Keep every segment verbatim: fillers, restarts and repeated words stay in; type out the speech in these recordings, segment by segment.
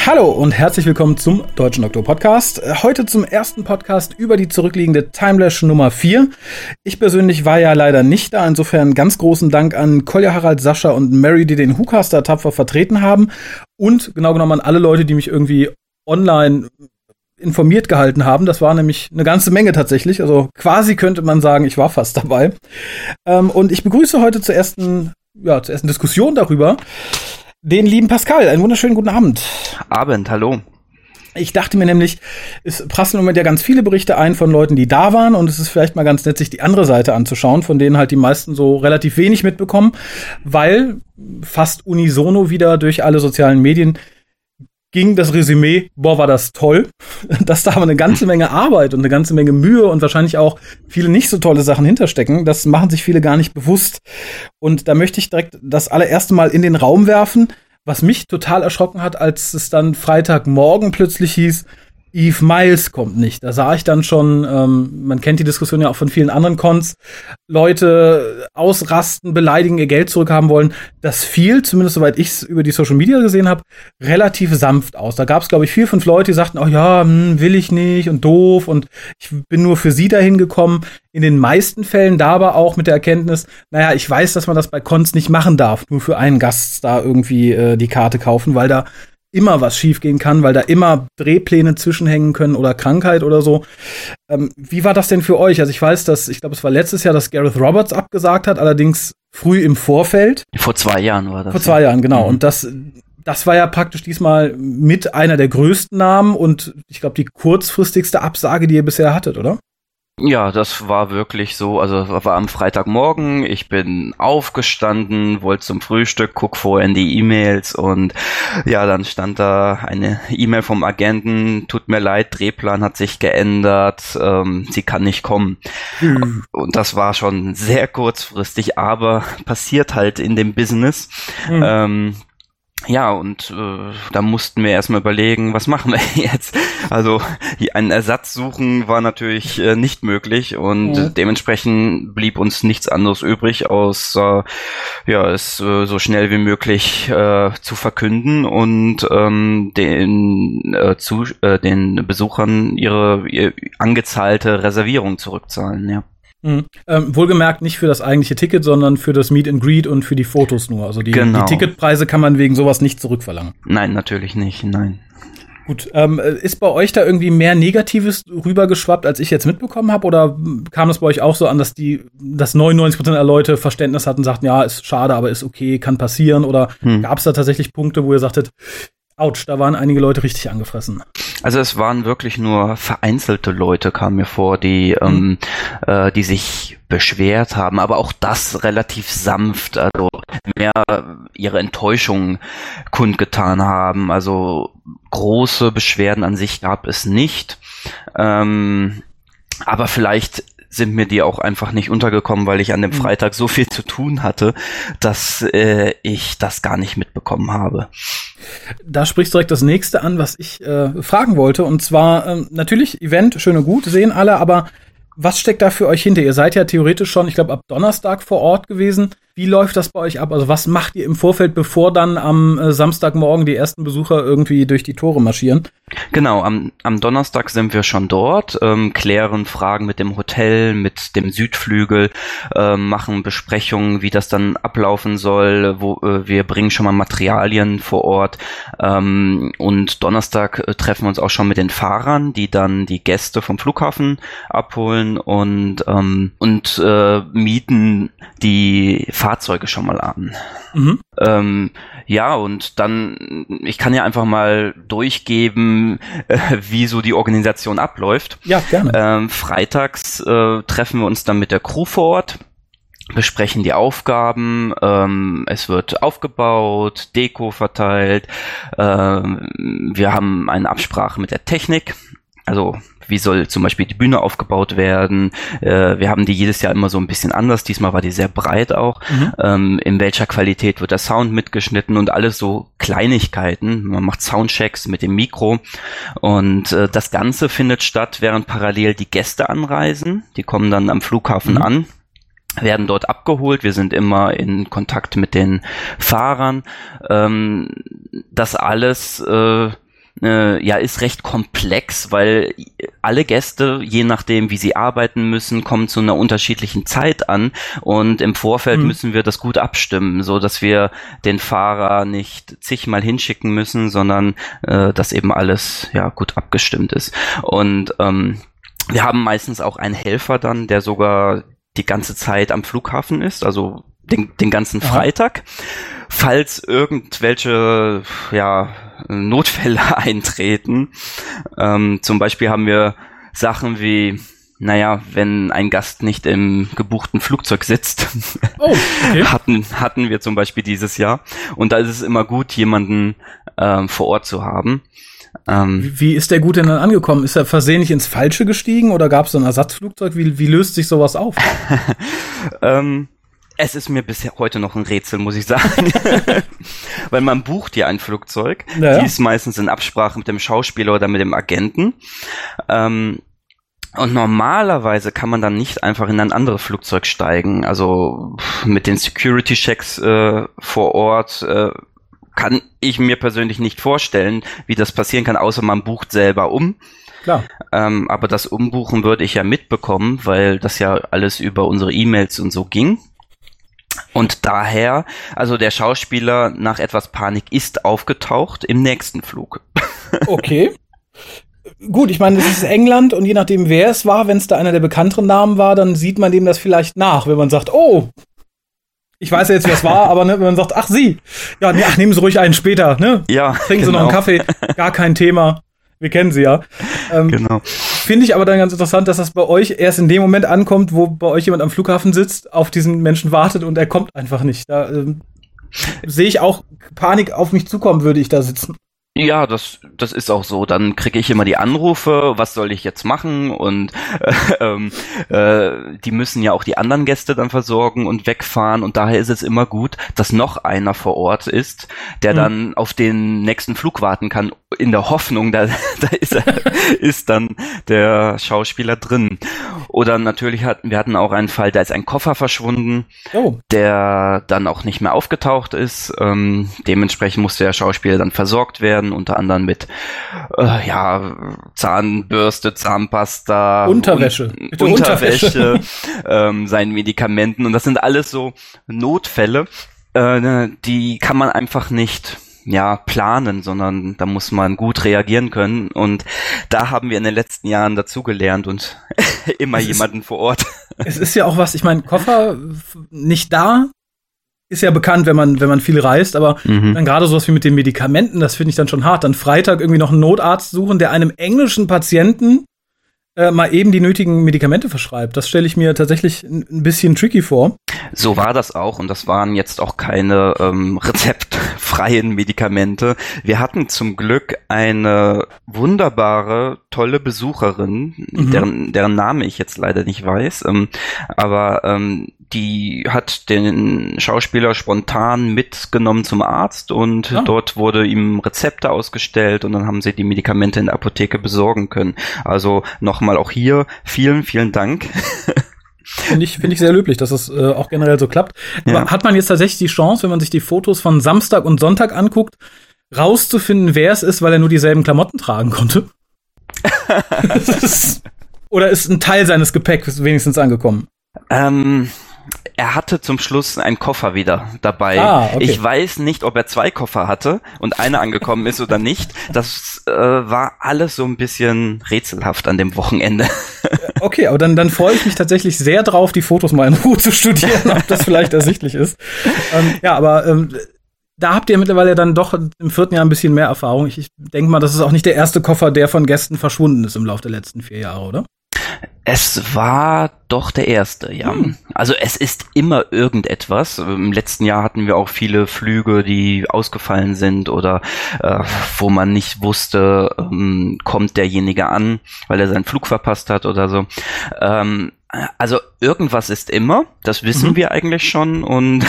Hallo und herzlich willkommen zum Deutschen Doktor Podcast. Heute zum ersten Podcast über die zurückliegende Timelash Nummer vier. Ich persönlich war ja leider nicht da, insofern ganz großen Dank an Kolja, Harald, Sascha und Mary, die den WhoCaster tapfer vertreten haben und genau genommen an alle Leute, die mich irgendwie online informiert gehalten haben. Das war nämlich eine ganze Menge tatsächlich, also quasi könnte man sagen, ich war fast dabei. Und ich begrüße heute zur ersten, ja, zur ersten Diskussion darüber den lieben Pascal. Einen wunderschönen guten Abend. Abend, hallo. Ich dachte mir nämlich, es prasseln im Moment ja ganz viele Berichte ein von Leuten, die da waren, und es ist vielleicht mal ganz nett, sich die andere Seite anzuschauen, von denen halt die meisten so relativ wenig mitbekommen, weil fast unisono wieder durch alle sozialen Medien ging das Resümee, boah, war das toll, dass da aber eine ganze Menge Arbeit und eine ganze Menge Mühe und wahrscheinlich auch viele nicht so tolle Sachen hinterstecken. Das machen sich viele gar nicht bewusst. Und da möchte ich direkt das allererste Mal in den Raum werfen, was mich total erschrocken hat, als es dann Freitagmorgen plötzlich hieß, Eve Miles kommt nicht. Da sah ich dann schon, ähm, man kennt die Diskussion ja auch von vielen anderen Cons, Leute ausrasten, beleidigen, ihr Geld zurückhaben wollen. Das fiel, zumindest soweit ich es über die Social Media gesehen habe, relativ sanft aus. Da gab es, glaube ich, vier, fünf Leute, die sagten, oh ja, hm, will ich nicht und doof und ich bin nur für sie dahin gekommen. In den meisten Fällen da aber auch mit der Erkenntnis, naja, ich weiß, dass man das bei Cons nicht machen darf, nur für einen Gaststar irgendwie äh, die Karte kaufen, weil da immer was schiefgehen kann, weil da immer Drehpläne zwischenhängen können oder Krankheit oder so. Ähm, wie war das denn für euch? Also ich weiß, dass, ich glaube, es war letztes Jahr, dass Gareth Roberts abgesagt hat, allerdings früh im Vorfeld. Vor zwei Jahren war das. Vor zwei Jahren, genau. Mhm. Und das, das war ja praktisch diesmal mit einer der größten Namen und ich glaube, die kurzfristigste Absage, die ihr bisher hattet, oder? Ja, das war wirklich so, also war am Freitagmorgen, ich bin aufgestanden, wollte zum Frühstück, guck vorher in die E-Mails und ja, dann stand da eine E-Mail vom Agenten, tut mir leid, Drehplan hat sich geändert, ähm, sie kann nicht kommen. Mhm. Und das war schon sehr kurzfristig, aber passiert halt in dem Business. Mhm. Ähm, Ja, und äh, da mussten wir erstmal überlegen, was machen wir jetzt? Also einen Ersatz suchen war natürlich äh, nicht möglich und ja. dementsprechend blieb uns nichts anderes übrig, außer ja, es äh, so schnell wie möglich äh, zu verkünden und ähm, den äh, zu äh, den Besuchern ihre, ihre angezahlte Reservierung zurückzahlen, ja. Mhm. Ähm, wohlgemerkt nicht für das eigentliche Ticket, sondern für das Meet and Greet und für die Fotos nur. Also die, genau. die Ticketpreise kann man wegen sowas nicht zurückverlangen. Nein, natürlich nicht, nein. Gut, ähm, ist bei euch da irgendwie mehr Negatives rübergeschwappt, als ich jetzt mitbekommen habe? Oder kam es bei euch auch so an, dass die, dass neunundneunzig Prozent der Leute Verständnis hatten und sagten, ja, ist schade, aber ist okay, kann passieren? Oder hm. gab es da tatsächlich Punkte, wo ihr sagtet, Autsch, da waren einige Leute richtig angefressen? Also es waren wirklich nur vereinzelte Leute, kam mir vor, die, mhm. ähm, äh, die sich beschwert haben, aber auch das relativ sanft, also mehr ihre Enttäuschung kundgetan haben. Also große Beschwerden an sich gab es nicht, ähm, aber vielleicht sind mir die auch einfach nicht untergekommen, weil ich an dem Freitag so viel zu tun hatte, dass äh, ich das gar nicht mitbekommen habe. Da sprichst du direkt das nächste an, was ich äh, fragen wollte. Und zwar, ähm, natürlich, Event, schön und gut, sehen alle, aber was steckt da für euch hinter? Ihr seid ja theoretisch schon, ich glaube, ab Donnerstag vor Ort gewesen. Wie läuft das bei euch ab? Also was macht ihr im Vorfeld, bevor dann am äh, Samstagmorgen die ersten Besucher irgendwie durch die Tore marschieren? Genau, am, am Donnerstag sind wir schon dort, ähm, klären Fragen mit dem Hotel, mit dem Südflügel, äh, machen Besprechungen, wie das dann ablaufen soll. Wo äh, wir bringen schon mal Materialien vor Ort ähm, und Donnerstag äh, treffen wir uns auch schon mit den Fahrern, die dann die Gäste vom Flughafen abholen und ähm, und äh, mieten die Fahrzeuge schon mal an. Mhm. Ähm, ja, und dann, ich kann ja einfach mal durchgeben, äh, wie so die Organisation abläuft. Ja, gerne. Ähm, freitags äh, treffen wir uns dann mit der Crew vor Ort, besprechen die Aufgaben, ähm, es wird aufgebaut, Deko verteilt, ähm, wir haben eine Absprache mit der Technik, also wie soll zum Beispiel die Bühne aufgebaut werden. Äh, wir haben die jedes Jahr immer so ein bisschen anders. Diesmal war die sehr breit auch. Mhm. Ähm, in welcher Qualität wird der Sound mitgeschnitten und alles so Kleinigkeiten. Man macht Soundchecks mit dem Mikro und äh, das Ganze findet statt, während parallel die Gäste anreisen. Die kommen dann am Flughafen mhm. an, werden dort abgeholt. Wir sind immer in Kontakt mit den Fahrern. Ähm, das alles äh, äh, ja, ist recht komplex, weil alle Gäste, je nachdem, wie sie arbeiten müssen, kommen zu einer unterschiedlichen Zeit an und im Vorfeld mhm. müssen wir das gut abstimmen, so dass wir den Fahrer nicht zigmal hinschicken müssen, sondern äh, dass eben alles ja gut abgestimmt ist. Und ähm, wir haben meistens auch einen Helfer dann, der sogar die ganze Zeit am Flughafen ist, also den, den ganzen Freitag. Aha. Falls irgendwelche ja, Notfälle eintreten. Ähm, zum Beispiel haben wir Sachen wie, naja, wenn ein Gast nicht im gebuchten Flugzeug sitzt, oh, okay. hatten, hatten wir zum Beispiel dieses Jahr. Und da ist es immer gut, jemanden ähm, vor Ort zu haben. Ähm, wie, wie ist der gut denn dann angekommen? Ist er versehentlich ins Falsche gestiegen oder gab es so ein Ersatzflugzeug? Wie, wie löst sich sowas auf? ähm, Es ist mir bisher heute noch ein Rätsel, muss ich sagen. Weil man bucht ja ein Flugzeug. Ja. Die ist meistens in Absprache mit dem Schauspieler oder mit dem Agenten. Ähm, und normalerweise kann man dann nicht einfach in ein anderes Flugzeug steigen. Also mit den Security-Checks äh, vor Ort äh, kann ich mir persönlich nicht vorstellen, wie das passieren kann, außer man bucht selber um. Klar. Ähm, aber das Umbuchen würde ich ja mitbekommen, weil das ja alles über unsere E-Mails und so ging. Und daher, also der Schauspieler nach etwas Panik ist aufgetaucht im nächsten Flug. Okay. Gut, ich meine, es ist England und je nachdem, wer es war, wenn es da einer der bekannteren Namen war, dann sieht man dem das vielleicht nach, wenn man sagt, oh, ich weiß ja jetzt, wer es war, aber ne, wenn man sagt, ach Sie, ja, nee, ach, nehmen Sie ruhig einen später, ne? Ja, trinken Sie genau. noch einen Kaffee, gar kein Thema. Wir kennen sie ja. Ähm, genau. Finde ich aber dann ganz interessant, dass das bei euch erst in dem Moment ankommt, wo bei euch jemand am Flughafen sitzt, auf diesen Menschen wartet und er kommt einfach nicht. Da ähm, sehe ich auch Panik auf mich zukommen, würde ich da sitzen. Ja, das das ist auch so. Dann kriege ich immer die Anrufe, was soll ich jetzt machen? Und äh, äh, die müssen ja auch die anderen Gäste dann versorgen und wegfahren. Und daher ist es immer gut, dass noch einer vor Ort ist, der mhm. dann auf den nächsten Flug warten kann, in der Hoffnung, da, da ist, er, ist dann der Schauspieler drin. Oder natürlich hatten wir hatten auch einen Fall, da ist ein Koffer verschwunden, oh. der dann auch nicht mehr aufgetaucht ist. Ähm, dementsprechend musste der Schauspieler dann versorgt werden, unter anderem mit äh, ja Zahnbürste, Zahnpasta, Unterwäsche, un- Unterwäsche, ähm, seinen Medikamenten. Und das sind alles so Notfälle, äh, die kann man einfach nicht ja planen, sondern da muss man gut reagieren können. Und da haben wir in den letzten Jahren dazugelernt und immer es jemanden ist, vor Ort. Es ist ja auch was, ich meine, Koffer nicht da, ist ja bekannt, wenn man wenn man viel reist, aber mhm. dann gerade sowas wie mit den Medikamenten, das finde ich dann schon hart. Dann Freitag irgendwie noch einen Notarzt suchen, der einem englischen Patienten äh, mal eben die nötigen Medikamente verschreibt. Das stelle ich mir tatsächlich ein, ein bisschen tricky vor. So war das auch und das waren jetzt auch keine ähm, rezeptfreien Medikamente. Wir hatten zum Glück eine wunderbare, tolle Besucherin, mhm. deren, deren Name ich jetzt leider nicht weiß, ähm, aber ähm, die hat den Schauspieler spontan mitgenommen zum Arzt und ah. dort wurde ihm Rezepte ausgestellt und dann haben sie die Medikamente in der Apotheke besorgen können. Also nochmal auch hier vielen, vielen Dank. Finde ich, finde ich sehr löblich, dass es äh, auch generell so klappt. Ja. Aber hat man jetzt tatsächlich die Chance, wenn man sich die Fotos von Samstag und Sonntag anguckt, rauszufinden, wer es ist, weil er nur dieselben Klamotten tragen konnte? ist, oder ist ein Teil seines Gepäcks wenigstens angekommen? Ähm, er hatte zum Schluss einen Koffer wieder dabei. Ah, okay. Ich weiß nicht, ob er zwei Koffer hatte und einer angekommen ist oder nicht. Das äh, war alles so ein bisschen rätselhaft an dem Wochenende. Okay, aber dann, dann freue ich mich tatsächlich sehr drauf, die Fotos mal in Ruhe zu studieren, ob das vielleicht ersichtlich ist. Ähm, ja, aber ähm, da habt ihr mittlerweile dann doch im vierten Jahr ein bisschen mehr Erfahrung. Ich, ich denke mal, das ist auch nicht der erste Koffer, der von Gästen verschwunden ist im Laufe der letzten vier Jahre, oder? Es war doch der erste, ja. Hm. Also es ist immer irgendetwas. Im letzten Jahr hatten wir auch viele Flüge, die ausgefallen sind oder äh, wo man nicht wusste, ähm, kommt derjenige an, weil er seinen Flug verpasst hat oder so. Ähm, also irgendwas ist immer, das wissen mhm. wir eigentlich schon und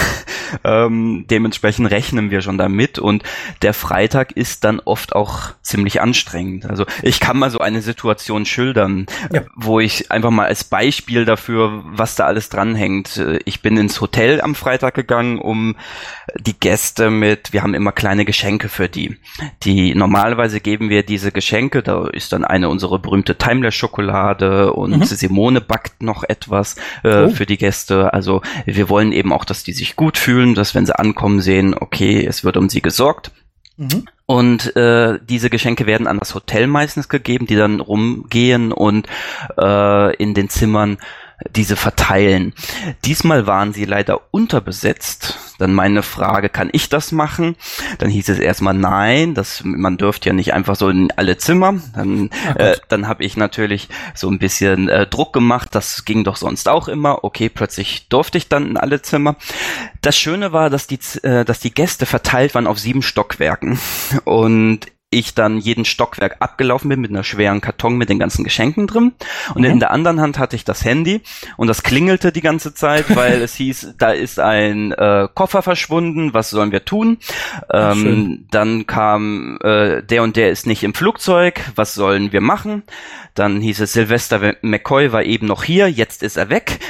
Ähm, dementsprechend rechnen wir schon damit und der Freitag ist dann oft auch ziemlich anstrengend. Also ich kann mal so eine Situation schildern, ja. wo ich einfach mal als Beispiel dafür, was da alles dranhängt. Ich bin ins Hotel am Freitag gegangen, um die Gäste mit, wir haben immer kleine Geschenke für die. Die normalerweise geben wir diese Geschenke, da ist dann eine unsere berühmte Timeless-Schokolade und mhm. Simone backt noch etwas äh, oh. für die Gäste. Also wir wollen eben auch, dass die sich gut fühlen, dass wenn sie ankommen sehen, okay, es wird um sie gesorgt. Mhm. Und äh, diese Geschenke werden an das Hotel meistens gegeben, die dann rumgehen und äh, in den Zimmern diese verteilen. Diesmal waren sie leider unterbesetzt. Dann meine Frage, kann ich das machen? Dann hieß es erstmal nein, das, man dürfte ja nicht einfach so in alle Zimmer. Dann, äh, dann habe ich natürlich so ein bisschen äh, Druck gemacht, das ging doch sonst auch immer. Okay, plötzlich durfte ich dann in alle Zimmer. Das Schöne war, dass die, äh, dass die Gäste verteilt waren auf sieben Stockwerken und ich dann jeden Stockwerk abgelaufen bin mit einer schweren Karton mit den ganzen Geschenken drin und mhm. in der anderen Hand hatte ich das Handy und das klingelte die ganze Zeit, weil es hieß, da ist ein äh, Koffer verschwunden, was sollen wir tun? Ähm, dann kam, äh, der und der ist nicht im Flugzeug, was sollen wir machen? Dann hieß es, Sylvester McCoy war eben noch hier, jetzt ist er weg.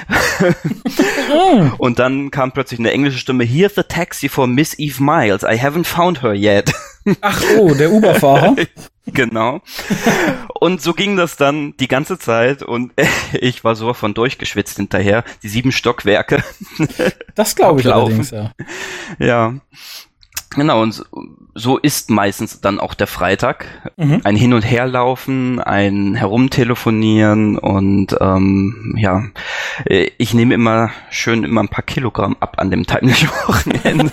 Und dann kam plötzlich eine englische Stimme, here's the taxi for Miss Eve Miles, I haven't found her yet. Ach oh, der Uber-Fahrer. Genau. Und so ging das dann die ganze Zeit und ich war so von durchgeschwitzt hinterher, die sieben Stockwerke. Das glaube ich allerdings, ja. Ja. Genau, und so ist meistens dann auch der Freitag. Mhm. Ein Hin- und Herlaufen, ein Herumtelefonieren und ähm, ja, ich nehme immer schön immer ein paar Kilogramm ab an dem Wochenende.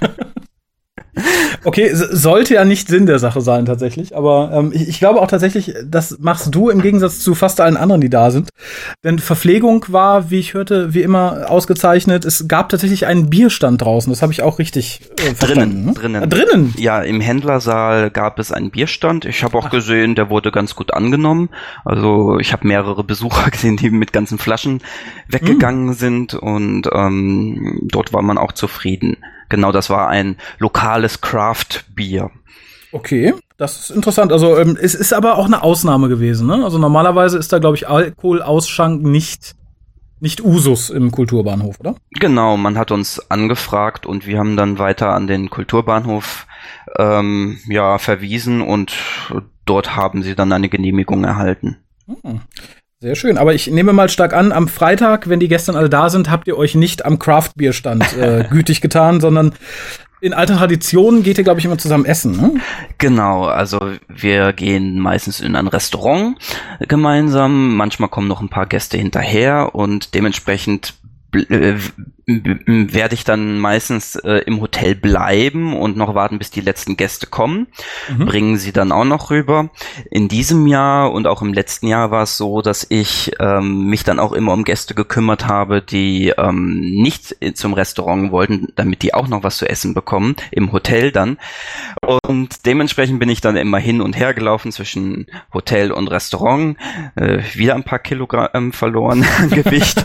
Okay, sollte ja nicht Sinn der Sache sein tatsächlich, aber ähm, ich, ich glaube auch tatsächlich, das machst du im Gegensatz zu fast allen anderen, die da sind. Denn Verpflegung war, wie ich hörte, wie immer ausgezeichnet. Es gab tatsächlich einen Bierstand draußen, das habe ich auch richtig äh, verstanden. Drinnen, drinnen. Ah, drinnen? Ja, im Händlersaal gab es einen Bierstand. Ich habe auch Ach. gesehen, der wurde ganz gut angenommen. Also ich habe mehrere Besucher gesehen, die mit ganzen Flaschen weggegangen mm. sind und ähm, dort war man auch zufrieden. Genau, das war ein lokales Craft-Bier. Okay, das ist interessant. Also ähm, es ist aber auch eine Ausnahme gewesen, ne? Also normalerweise ist da, glaube ich, Alkoholausschank nicht nicht Usus im Kulturbahnhof, oder? Genau, man hat uns angefragt und wir haben dann weiter an den Kulturbahnhof ähm, ja verwiesen und dort haben sie dann eine Genehmigung erhalten. Hm. Sehr schön, aber ich nehme mal stark an, am Freitag, wenn die Gäste alle da sind, habt ihr euch nicht am Craft-Bierstand äh, gütig getan, sondern in alter Tradition geht ihr, glaube ich, immer zusammen essen, ne? Genau, also wir gehen meistens in ein Restaurant gemeinsam, manchmal kommen noch ein paar Gäste hinterher und dementsprechend äh, werde ich dann meistens äh, im Hotel bleiben und noch warten, bis die letzten Gäste kommen, mhm. bringen sie dann auch noch rüber. In diesem Jahr und auch im letzten Jahr war es so, dass ich ähm, mich dann auch immer um Gäste gekümmert habe, die ähm, nicht zum Restaurant wollten, damit die auch noch was zu essen bekommen, im Hotel dann. Und dementsprechend bin ich dann immer hin und her gelaufen zwischen Hotel und Restaurant, äh, wieder ein paar Kilogramm verloren an Gewicht,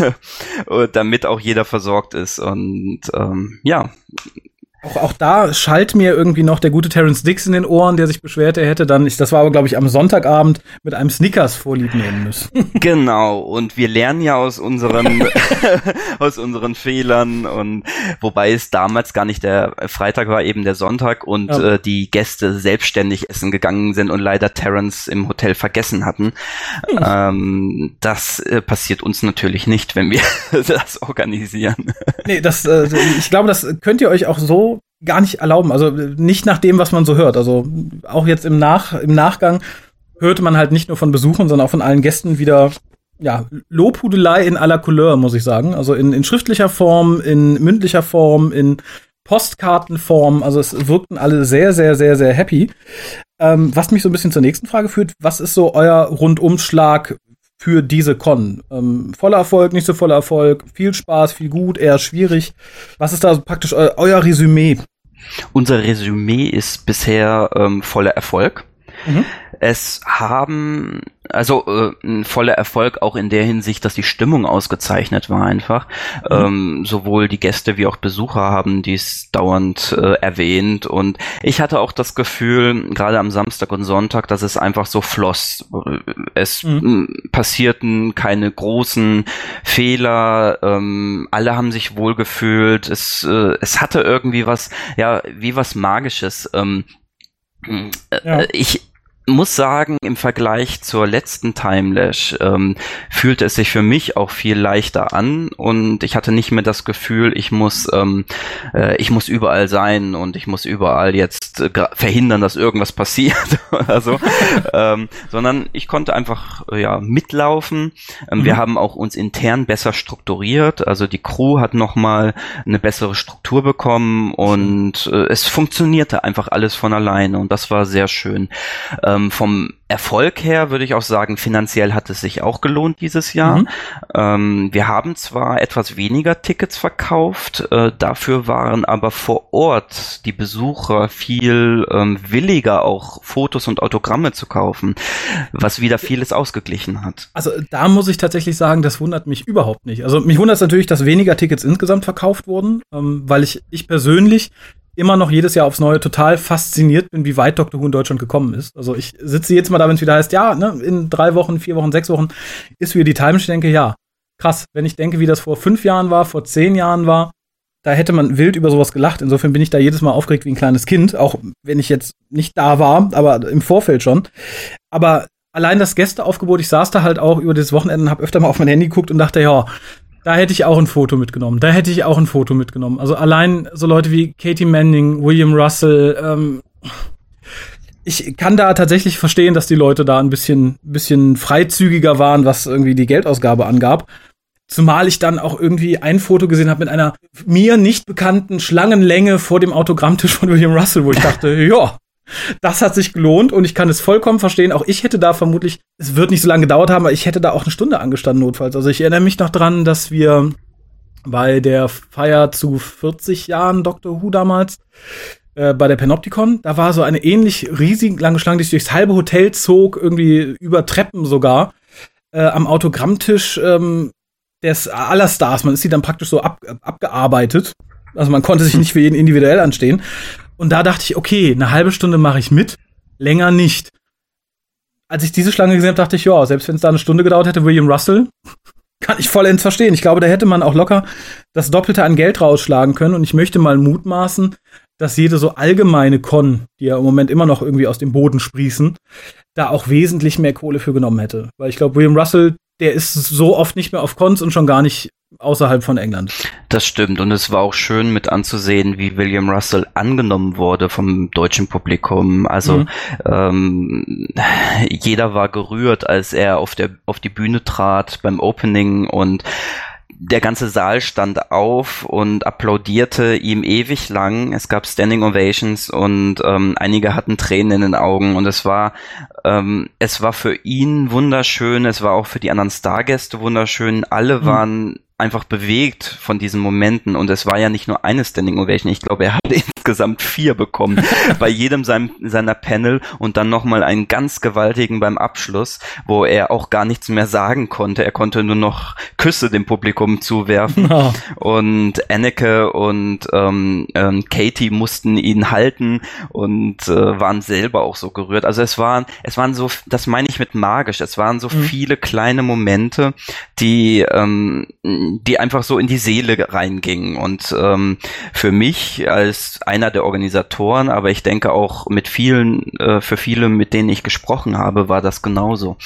damit auch jeder versorgt ist und ähm, ja. Auch, auch da schallt mir irgendwie noch der gute Terence Dicks in den Ohren, der sich beschwert, er hätte dann, ich, das war aber glaube ich am Sonntagabend, mit einem Snickers vorlieb nehmen müssen. Genau, und wir lernen ja aus unseren aus unseren Fehlern und wobei es damals gar nicht der Freitag war, eben der Sonntag und ja. äh, die Gäste selbstständig essen gegangen sind und leider Terence im Hotel vergessen hatten. Hm. Ähm, das äh, passiert uns natürlich nicht, wenn wir das organisieren. Nee, das, äh, ich glaube, das könnt ihr euch auch so gar nicht erlauben, also nicht nach dem, was man so hört. Also auch jetzt im Nach im Nachgang hörte man halt nicht nur von Besuchern, sondern auch von allen Gästen wieder ja Lobhudelei in aller Couleur, muss ich sagen. Also in, in schriftlicher Form, in mündlicher Form, in Postkartenform. Also es wirkten alle sehr, sehr, sehr, sehr happy. Ähm, was mich so ein bisschen zur nächsten Frage führt: Was ist so euer Rundumschlag für diese Con? Ähm, voller Erfolg, nicht so voller Erfolg, viel Spaß, viel gut, eher schwierig. Was ist da praktisch eu- euer Resümee? Unser Resümee ist bisher ähm, voller Erfolg. Mhm. es haben, also äh, ein voller Erfolg auch in der Hinsicht, dass die Stimmung ausgezeichnet war einfach. Mhm. Ähm, sowohl die Gäste wie auch Besucher haben dies dauernd äh, erwähnt und ich hatte auch das Gefühl, gerade am Samstag und Sonntag, dass es einfach so floss. Es mhm. passierten keine großen Fehler, ähm, alle haben sich wohlgefühlt, es, äh, es hatte irgendwie was, ja, wie was Magisches. Ähm, ja. äh, ich muss sagen, im Vergleich zur letzten Timelash ähm, fühlte es sich für mich auch viel leichter an und ich hatte nicht mehr das Gefühl, ich muss ähm, äh, ich muss überall sein und ich muss überall jetzt äh, verhindern, dass irgendwas passiert oder so, ähm, sondern ich konnte einfach äh, ja mitlaufen. Ähm, mhm. Wir haben auch uns intern besser strukturiert, also die Crew hat nochmal eine bessere Struktur bekommen und äh, es funktionierte einfach alles von alleine und das war sehr schön. Ähm, vom Erfolg her würde ich auch sagen, finanziell hat es sich auch gelohnt dieses Jahr. Mhm. Ähm, wir haben zwar etwas weniger Tickets verkauft, äh, dafür waren aber vor Ort die Besucher viel ähm, williger, auch Fotos und Autogramme zu kaufen, was wieder vieles ausgeglichen hat. Also da muss ich tatsächlich sagen, das wundert mich überhaupt nicht. Also mich wundert es natürlich, dass weniger Tickets insgesamt verkauft wurden, ähm, weil ich, ich persönlich immer noch jedes Jahr aufs Neue total fasziniert bin, wie weit Doctor Who in Deutschland gekommen ist. Also ich sitze jetzt mal da, wenn es wieder heißt, ja, ne, in drei Wochen, vier Wochen, sechs Wochen ist wieder die Time. Ich denke, ja, krass. Wenn ich denke, wie das vor fünf Jahren war, vor zehn Jahren war, da hätte man wild über sowas gelacht. Insofern bin ich da jedes Mal aufgeregt wie ein kleines Kind, auch wenn ich jetzt nicht da war, aber im Vorfeld schon. Aber allein das Gästeaufgebot, ich saß da halt auch über das Wochenende und habe öfter mal auf mein Handy geguckt und dachte, ja, da hätte ich auch ein Foto mitgenommen. Da hätte ich auch ein Foto mitgenommen. Also allein so Leute wie Katie Manning, William Russell, ähm, ich kann da tatsächlich verstehen, dass die Leute da ein bisschen, bisschen freizügiger waren, was irgendwie die Geldausgabe angab. Zumal ich dann auch irgendwie ein Foto gesehen habe mit einer mir nicht bekannten Schlangenlänge vor dem Autogrammtisch von William Russell, wo ich dachte, ja, das hat sich gelohnt und ich kann es vollkommen verstehen. Auch ich hätte da vermutlich, es wird nicht so lange gedauert haben, aber ich hätte da auch eine Stunde angestanden notfalls. Also ich erinnere mich noch dran, dass wir bei der Feier zu vierzig Jahren Doctor Who damals, äh, bei der Panopticon, da war so eine ähnlich riesig lange Schlange, die sich durchs halbe Hotel zog, irgendwie über Treppen sogar, äh, am Autogrammtisch ähm, des aller Stars. Man ist sie dann praktisch so ab, abgearbeitet. Also man konnte sich nicht für jeden individuell anstehen. Und da dachte ich, okay, eine halbe Stunde mache ich mit, länger nicht. Als ich diese Schlange gesehen habe, dachte ich, ja, selbst wenn es da eine Stunde gedauert hätte, William Russell, kann ich vollends verstehen. Ich glaube, da hätte man auch locker das Doppelte an Geld rausschlagen können. Und ich möchte mal mutmaßen, dass jede so allgemeine Con, die ja im Moment immer noch irgendwie aus dem Boden sprießen, da auch wesentlich mehr Kohle für genommen hätte. Weil ich glaube, William Russell, der ist so oft nicht mehr auf Cons und schon gar nicht außerhalb von England. Das stimmt und es war auch schön mit anzusehen, wie William Russell angenommen wurde vom deutschen Publikum. Also mhm. ähm, jeder war gerührt, als er auf der auf die Bühne trat beim Opening und der ganze Saal stand auf und applaudierte ihm ewig lang. Es gab Standing Ovations und ähm, einige hatten Tränen in den Augen und es war ähm, es war für ihn wunderschön, es war auch für die anderen Stargäste wunderschön. Alle mhm. waren einfach bewegt von diesen Momenten und es war ja nicht nur eine Standing Ovation, ich glaube, er hatte insgesamt vier bekommen bei jedem seinem, seiner Panel und dann nochmal einen ganz gewaltigen beim Abschluss, wo er auch gar nichts mehr sagen konnte, er konnte nur noch Küsse dem Publikum zuwerfen oh. und Anneke und ähm, ähm, Katie mussten ihn halten und äh, waren selber auch so gerührt, also es waren, es waren so, das meine ich mit magisch, es waren so mhm. viele kleine Momente, die ähm, die einfach so in die Seele reingingen und ähm, für mich als einer der Organisatoren, aber ich denke auch mit vielen, äh, für viele, mit denen ich gesprochen habe, war das genauso.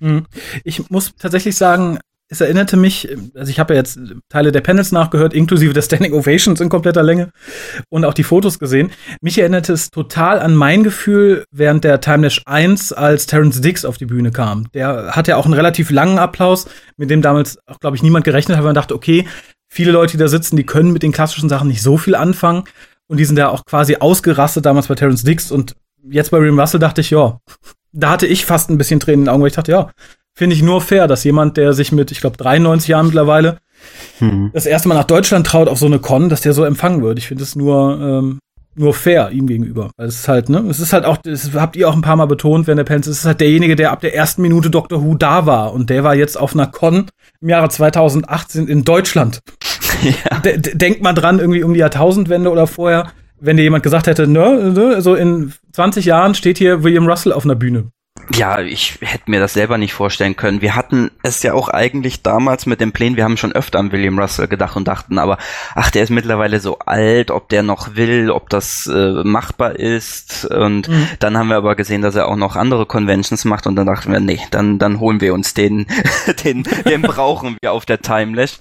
Ich muss tatsächlich sagen, es erinnerte mich, also ich habe ja jetzt Teile der Panels nachgehört, inklusive der Standing Ovations in kompletter Länge und auch die Fotos gesehen. Mich erinnerte es total an mein Gefühl während der Timelash eins, als Terrance Dicks auf die Bühne kam. Der hatte ja auch einen relativ langen Applaus, mit dem damals auch, glaube ich, niemand gerechnet hat, weil man dachte, okay, viele Leute, die da sitzen, die können mit den klassischen Sachen nicht so viel anfangen und die sind ja auch quasi ausgerastet damals bei Terrance Dicks und jetzt bei William Russell dachte ich, ja, da hatte ich fast ein bisschen Tränen in den Augen, weil ich dachte, ja, finde ich nur fair, dass jemand, der sich mit, ich glaube, dreiundneunzig Jahren mittlerweile hm. das erste Mal nach Deutschland traut auf so eine Con, dass der so empfangen wird. Ich finde es nur, ähm, nur fair ihm gegenüber. Es ist halt, ne, es ist halt auch, das habt ihr auch ein paar Mal betont, während der Pence, es ist halt derjenige, der ab der ersten Minute Doctor Who da war und der war jetzt auf einer Con im Jahre zweitausendachtzehn in Deutschland. Ja. D- denkt mal dran, irgendwie um die Jahrtausendwende oder vorher, wenn dir jemand gesagt hätte, ne, ne, so in zwanzig Jahren steht hier William Russell auf einer Bühne. Ja, ich hätte mir das selber nicht vorstellen können. Wir hatten es ja auch eigentlich damals mit dem Plänen, wir haben schon öfter an William Russell gedacht und dachten, aber ach, der ist mittlerweile so alt, ob der noch will, ob das äh, machbar ist. Und mhm. dann haben wir aber gesehen, dass er auch noch andere Conventions macht und dann dachten wir, nee, dann dann holen wir uns den, den, den brauchen wir auf der Timelash.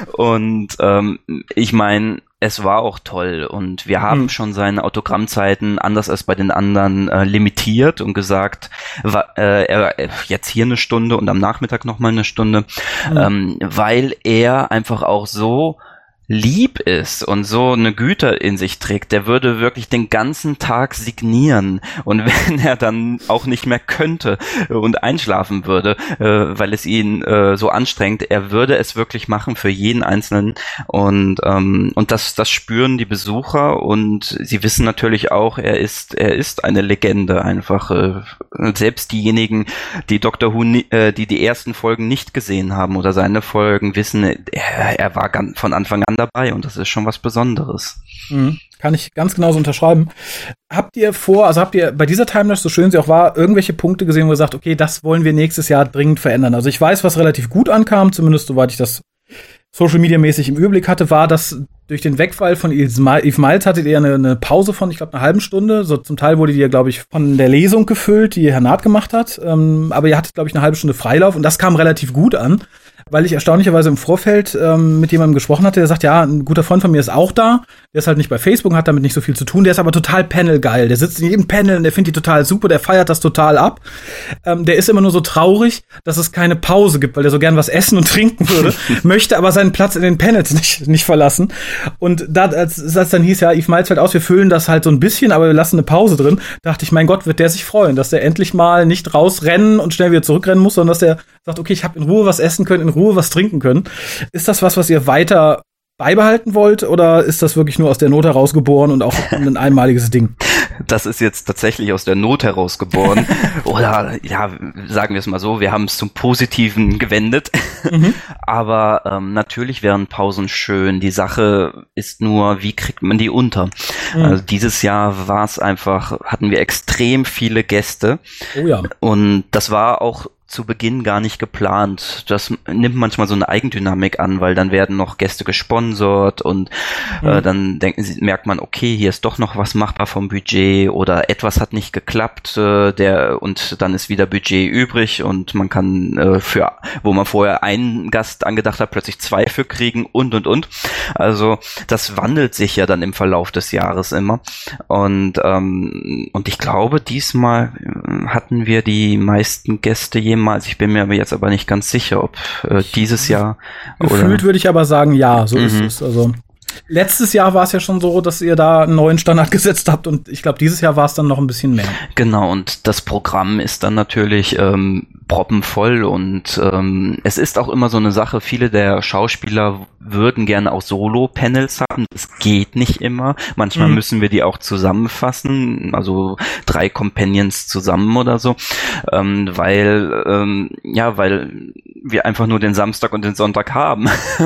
Und ähm, ich meine, es war auch toll und wir haben hm. schon seine Autogrammzeiten anders als bei den anderen äh, limitiert und gesagt, wa, äh, er, jetzt hier eine Stunde und am Nachmittag nochmal eine Stunde, hm. ähm, weil er einfach auch so lieb ist und so eine Güte in sich trägt, der würde wirklich den ganzen Tag signieren und wenn er dann auch nicht mehr könnte und einschlafen würde, äh, weil es ihn äh, so anstrengt, er würde es wirklich machen für jeden Einzelnen und ähm, und das das spüren die Besucher und sie wissen natürlich auch, er ist er ist eine Legende einfach. Äh, selbst diejenigen, die Doctor Who, äh, die die ersten Folgen nicht gesehen haben oder seine Folgen, wissen, er, er war ganz von Anfang an dabei und das ist schon was Besonderes. Mhm. Kann ich ganz genauso unterschreiben. Habt ihr vor, also habt ihr bei dieser Timelash, so schön sie auch war, irgendwelche Punkte gesehen, wo ihr sagt, okay, das wollen wir nächstes Jahr dringend verändern? Also ich weiß, was relativ gut ankam, zumindest soweit ich das Social Media mäßig im Überblick hatte, war, dass durch den Wegfall von Eve Miles hattet ihr eine, eine Pause von, ich glaube, einer halben Stunde. So zum Teil wurde die ja, glaube ich, von der Lesung gefüllt, die Herr Naht gemacht hat. Ähm, aber ihr hattet, glaube ich, eine halbe Stunde Freilauf und das kam relativ gut an, weil ich erstaunlicherweise im Vorfeld ähm, mit jemandem gesprochen hatte, der sagt, ja, ein guter Freund von mir ist auch da, der ist halt nicht bei Facebook, hat damit nicht so viel zu tun, der ist aber total panelgeil, der sitzt in jedem Panel und der findet die total super, der feiert das total ab. Ähm, der ist immer nur so traurig, dass es keine Pause gibt, weil der so gern was essen und trinken würde, möchte aber seinen Platz in den Panels nicht, nicht verlassen. Und da, als, als dann hieß, ja, Eve Miles fällt aus, wir füllen das halt so ein bisschen, aber wir lassen eine Pause drin, dachte ich, mein Gott, wird der sich freuen, dass der endlich mal nicht rausrennen und schnell wieder zurückrennen muss, sondern dass der sagt, okay, ich habe in Ruhe was essen können, in Ruhe was trinken können. Ist das was, was ihr weiter beibehalten wollt, oder ist das wirklich nur aus der Not heraus geboren und auch ein einmaliges Ding? Das ist jetzt tatsächlich aus der Not heraus geboren. Oder, ja, sagen wir es mal so, wir haben es zum Positiven gewendet. Mhm. Aber ähm, natürlich wären Pausen schön. Die Sache ist nur, wie kriegt man die unter? Mhm. Also dieses Jahr war es einfach, hatten wir extrem viele Gäste. Oh ja. Und das war auch zu Beginn gar nicht geplant. Das nimmt manchmal so eine Eigendynamik an, weil dann werden noch Gäste gesponsert und mhm. äh, dann denken sie, merkt man, okay, hier ist doch noch was machbar vom Budget oder etwas hat nicht geklappt, äh, der und dann ist wieder Budget übrig und man kann äh, für, wo man vorher einen Gast angedacht hat, plötzlich zwei für kriegen und und und. Also das wandelt sich ja dann im Verlauf des Jahres immer und ähm, und ich glaube, diesmal hatten wir die meisten Gäste jemals. Ich bin mir aber jetzt aber nicht ganz sicher, ob äh, dieses Jahr Gefühlt oder würde ich aber sagen, ja, so mhm. ist es. Also letztes Jahr war es ja schon so, dass ihr da einen neuen Standard gesetzt habt und ich glaube, dieses Jahr war es dann noch ein bisschen mehr. Genau, und das Programm ist dann natürlich ähm, proppenvoll und ähm, es ist auch immer so eine Sache, viele der Schauspieler würden gerne auch Solo-Panels haben, das geht nicht immer, manchmal mhm. müssen wir die auch zusammenfassen, also drei Companions zusammen oder so, ähm, weil ähm, ja, weil wir einfach nur den Samstag und den Sonntag haben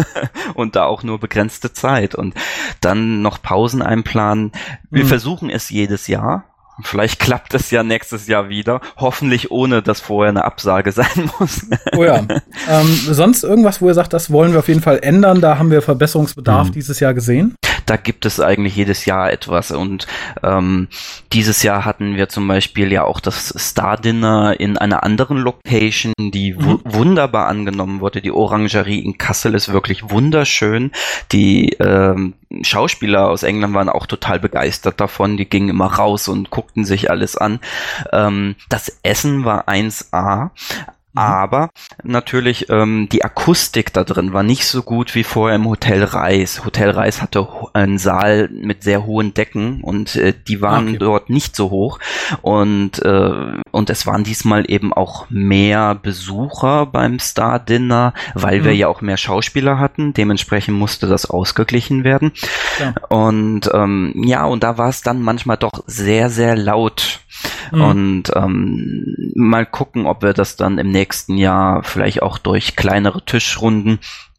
und da auch nur begrenzte Zeit und dann noch Pausen einplanen. Wir mhm. versuchen es jedes Jahr. Vielleicht klappt es ja nächstes Jahr wieder. Hoffentlich ohne, dass vorher eine Absage sein muss. Oh ja. Ähm, sonst irgendwas, wo ihr sagt, das wollen wir auf jeden Fall ändern? Da haben wir Verbesserungsbedarf mhm. dieses Jahr gesehen? Da gibt es eigentlich jedes Jahr etwas und ähm, dieses Jahr hatten wir zum Beispiel ja auch das Star Dinner in einer anderen Location, die mhm. w- wunderbar angenommen wurde. Die Orangerie in Kassel ist wirklich wunderschön. Die ähm, Schauspieler aus England waren auch total begeistert davon. Die gingen immer raus und guckten sich alles an. Ähm, das Essen war eins A. Aber natürlich, ähm, die Akustik da drin war nicht so gut wie vorher im Hotel Reis. Hotel Reis hatte einen Saal mit sehr hohen Decken und äh, die waren okay. dort nicht so hoch. Und, äh, und es waren diesmal eben auch mehr Besucher beim Star Dinner, weil mhm. wir ja auch mehr Schauspieler hatten. Dementsprechend musste das ausgeglichen werden. Ja. Und ähm, ja, und da war es dann manchmal doch sehr, sehr laut. Mhm. Und ähm, mal gucken, ob wir das dann im nächsten Jahr vielleicht auch durch kleinere Tischrunden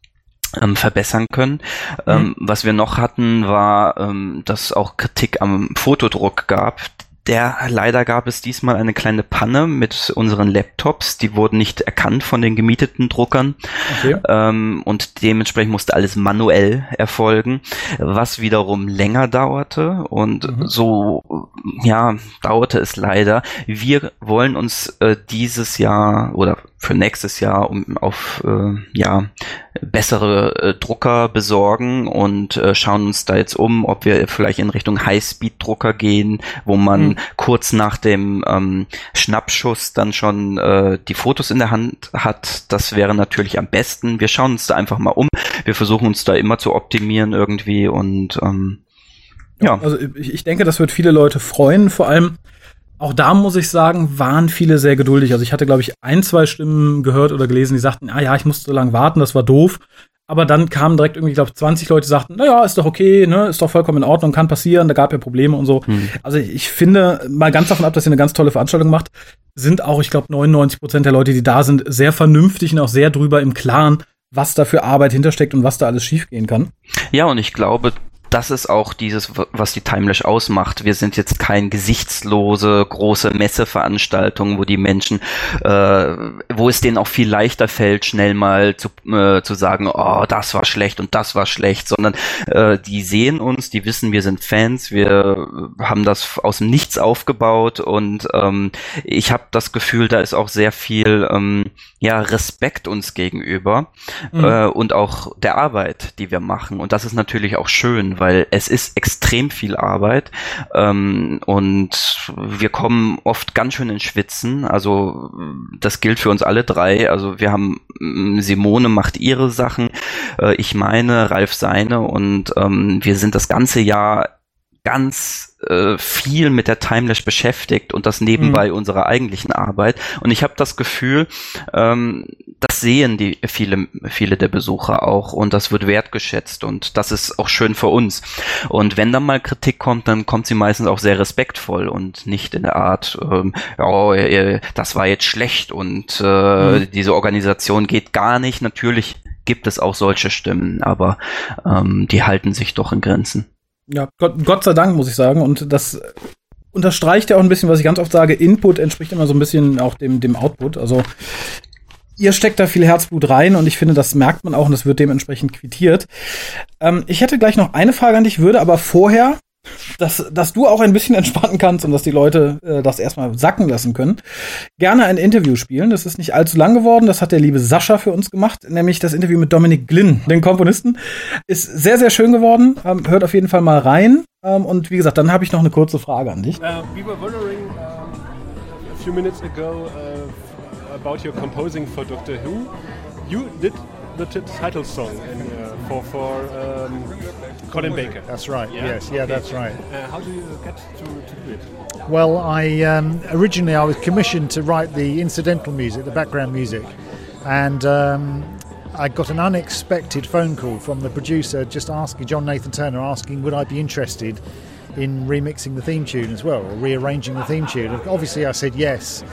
ähm, verbessern können. Mhm. Ähm, was wir noch hatten, war, ähm, dass auch Kritik am Fotodruck gab. Der, leider gab es diesmal eine kleine Panne mit unseren Laptops. Die wurden nicht erkannt von den gemieteten Druckern. Okay. Ähm, und dementsprechend musste alles manuell erfolgen, was wiederum länger dauerte. Und mhm. so, ja, dauerte es leider. Wir wollen uns äh, dieses Jahr oder für nächstes Jahr um auf äh, ja bessere äh, Drucker besorgen und äh, schauen uns da jetzt um, ob wir vielleicht in Richtung Highspeed-Drucker gehen, wo man mhm. kurz nach dem ähm, Schnappschuss dann schon äh, die Fotos in der Hand hat. Das wäre natürlich am besten. Wir schauen uns da einfach mal um. Wir versuchen uns da immer zu optimieren irgendwie und ähm, ja. Also ich, ich denke, das wird viele Leute freuen, vor allem auch da muss ich sagen, waren viele sehr geduldig. Also ich hatte, glaube ich, ein, zwei Stimmen gehört oder gelesen, die sagten, ah ja, ich musste so lange warten, das war doof. Aber dann kamen direkt irgendwie, glaube ich, zwanzig Leute, die sagten, na ja, ist doch okay, ne, ist doch vollkommen in Ordnung, kann passieren, da gab ja Probleme und so. Hm. Also ich finde, mal ganz davon ab, dass ihr eine ganz tolle Veranstaltung macht, sind auch, ich glaube, neunundneunzig Prozent der Leute, die da sind, sehr vernünftig und auch sehr drüber im Klaren, was da für Arbeit hintersteckt und was da alles schiefgehen kann. Ja, und ich glaube, das ist auch dieses, was die Timelash ausmacht. Wir sind jetzt kein gesichtslose, große Messeveranstaltung, wo die Menschen, äh, wo es denen auch viel leichter fällt, schnell mal zu, äh, zu sagen, oh, das war schlecht und das war schlecht, sondern äh, die sehen uns, die wissen, wir sind Fans, wir haben das aus dem Nichts aufgebaut und ähm, ich habe das Gefühl, da ist auch sehr viel ähm, ja, Respekt uns gegenüber mhm. äh, und auch der Arbeit, die wir machen. Und das ist natürlich auch schön, weil es ist extrem viel Arbeit ähm, und wir kommen oft ganz schön ins Schwitzen. Also das gilt für uns alle drei. Also wir haben, Simone macht ihre Sachen, äh, ich meine, Ralf seine und ähm, wir sind das ganze Jahr ganz äh, viel mit der Timelash beschäftigt und das nebenbei mhm. unserer eigentlichen Arbeit. Und ich habe das Gefühl, ähm, das sehen die viele viele der Besucher auch und das wird wertgeschätzt und das ist auch schön für uns. Und wenn dann mal Kritik kommt, dann kommt sie meistens auch sehr respektvoll und nicht in der Art, ähm, oh, das war jetzt schlecht und äh, mhm. diese Organisation geht gar nicht. Natürlich gibt es auch solche Stimmen, aber ähm, die halten sich doch in Grenzen. Ja, Gott, Gott sei Dank, muss ich sagen. Und das unterstreicht ja auch ein bisschen, was ich ganz oft sage. Input entspricht immer so ein bisschen auch dem, dem Output. Also ihr steckt da viel Herzblut rein und ich finde, das merkt man auch und das wird dementsprechend quittiert. Ähm, ich hätte gleich noch eine Frage an dich, würde aber vorher, dass, dass du auch ein bisschen entspannen kannst und dass die Leute äh, das erstmal sacken lassen können, gerne ein Interview spielen. Das ist nicht allzu lang geworden. Das hat der liebe Sascha für uns gemacht, nämlich das Interview mit Dominic Glynn, den Komponisten. Ist sehr, sehr schön geworden. Ähm, hört auf jeden Fall mal rein. Ähm, und wie gesagt, dann habe ich noch eine kurze Frage an dich. Uh, we were wondering um, a few minutes ago uh, about your composing for Doctor Who. You did the t- title song in, uh, for for um, Colin Baker. That's right. Yeah? Yes. Yeah, okay. That's right. Uh, how do you get to, to do it? Well, I um, originally I was commissioned to write the incidental music, the background music, and um, I got an unexpected phone call from the producer, just asking John Nathan Turner, asking would I be interested in remixing the theme tune as well, or rearranging the theme tune. And obviously I said yes,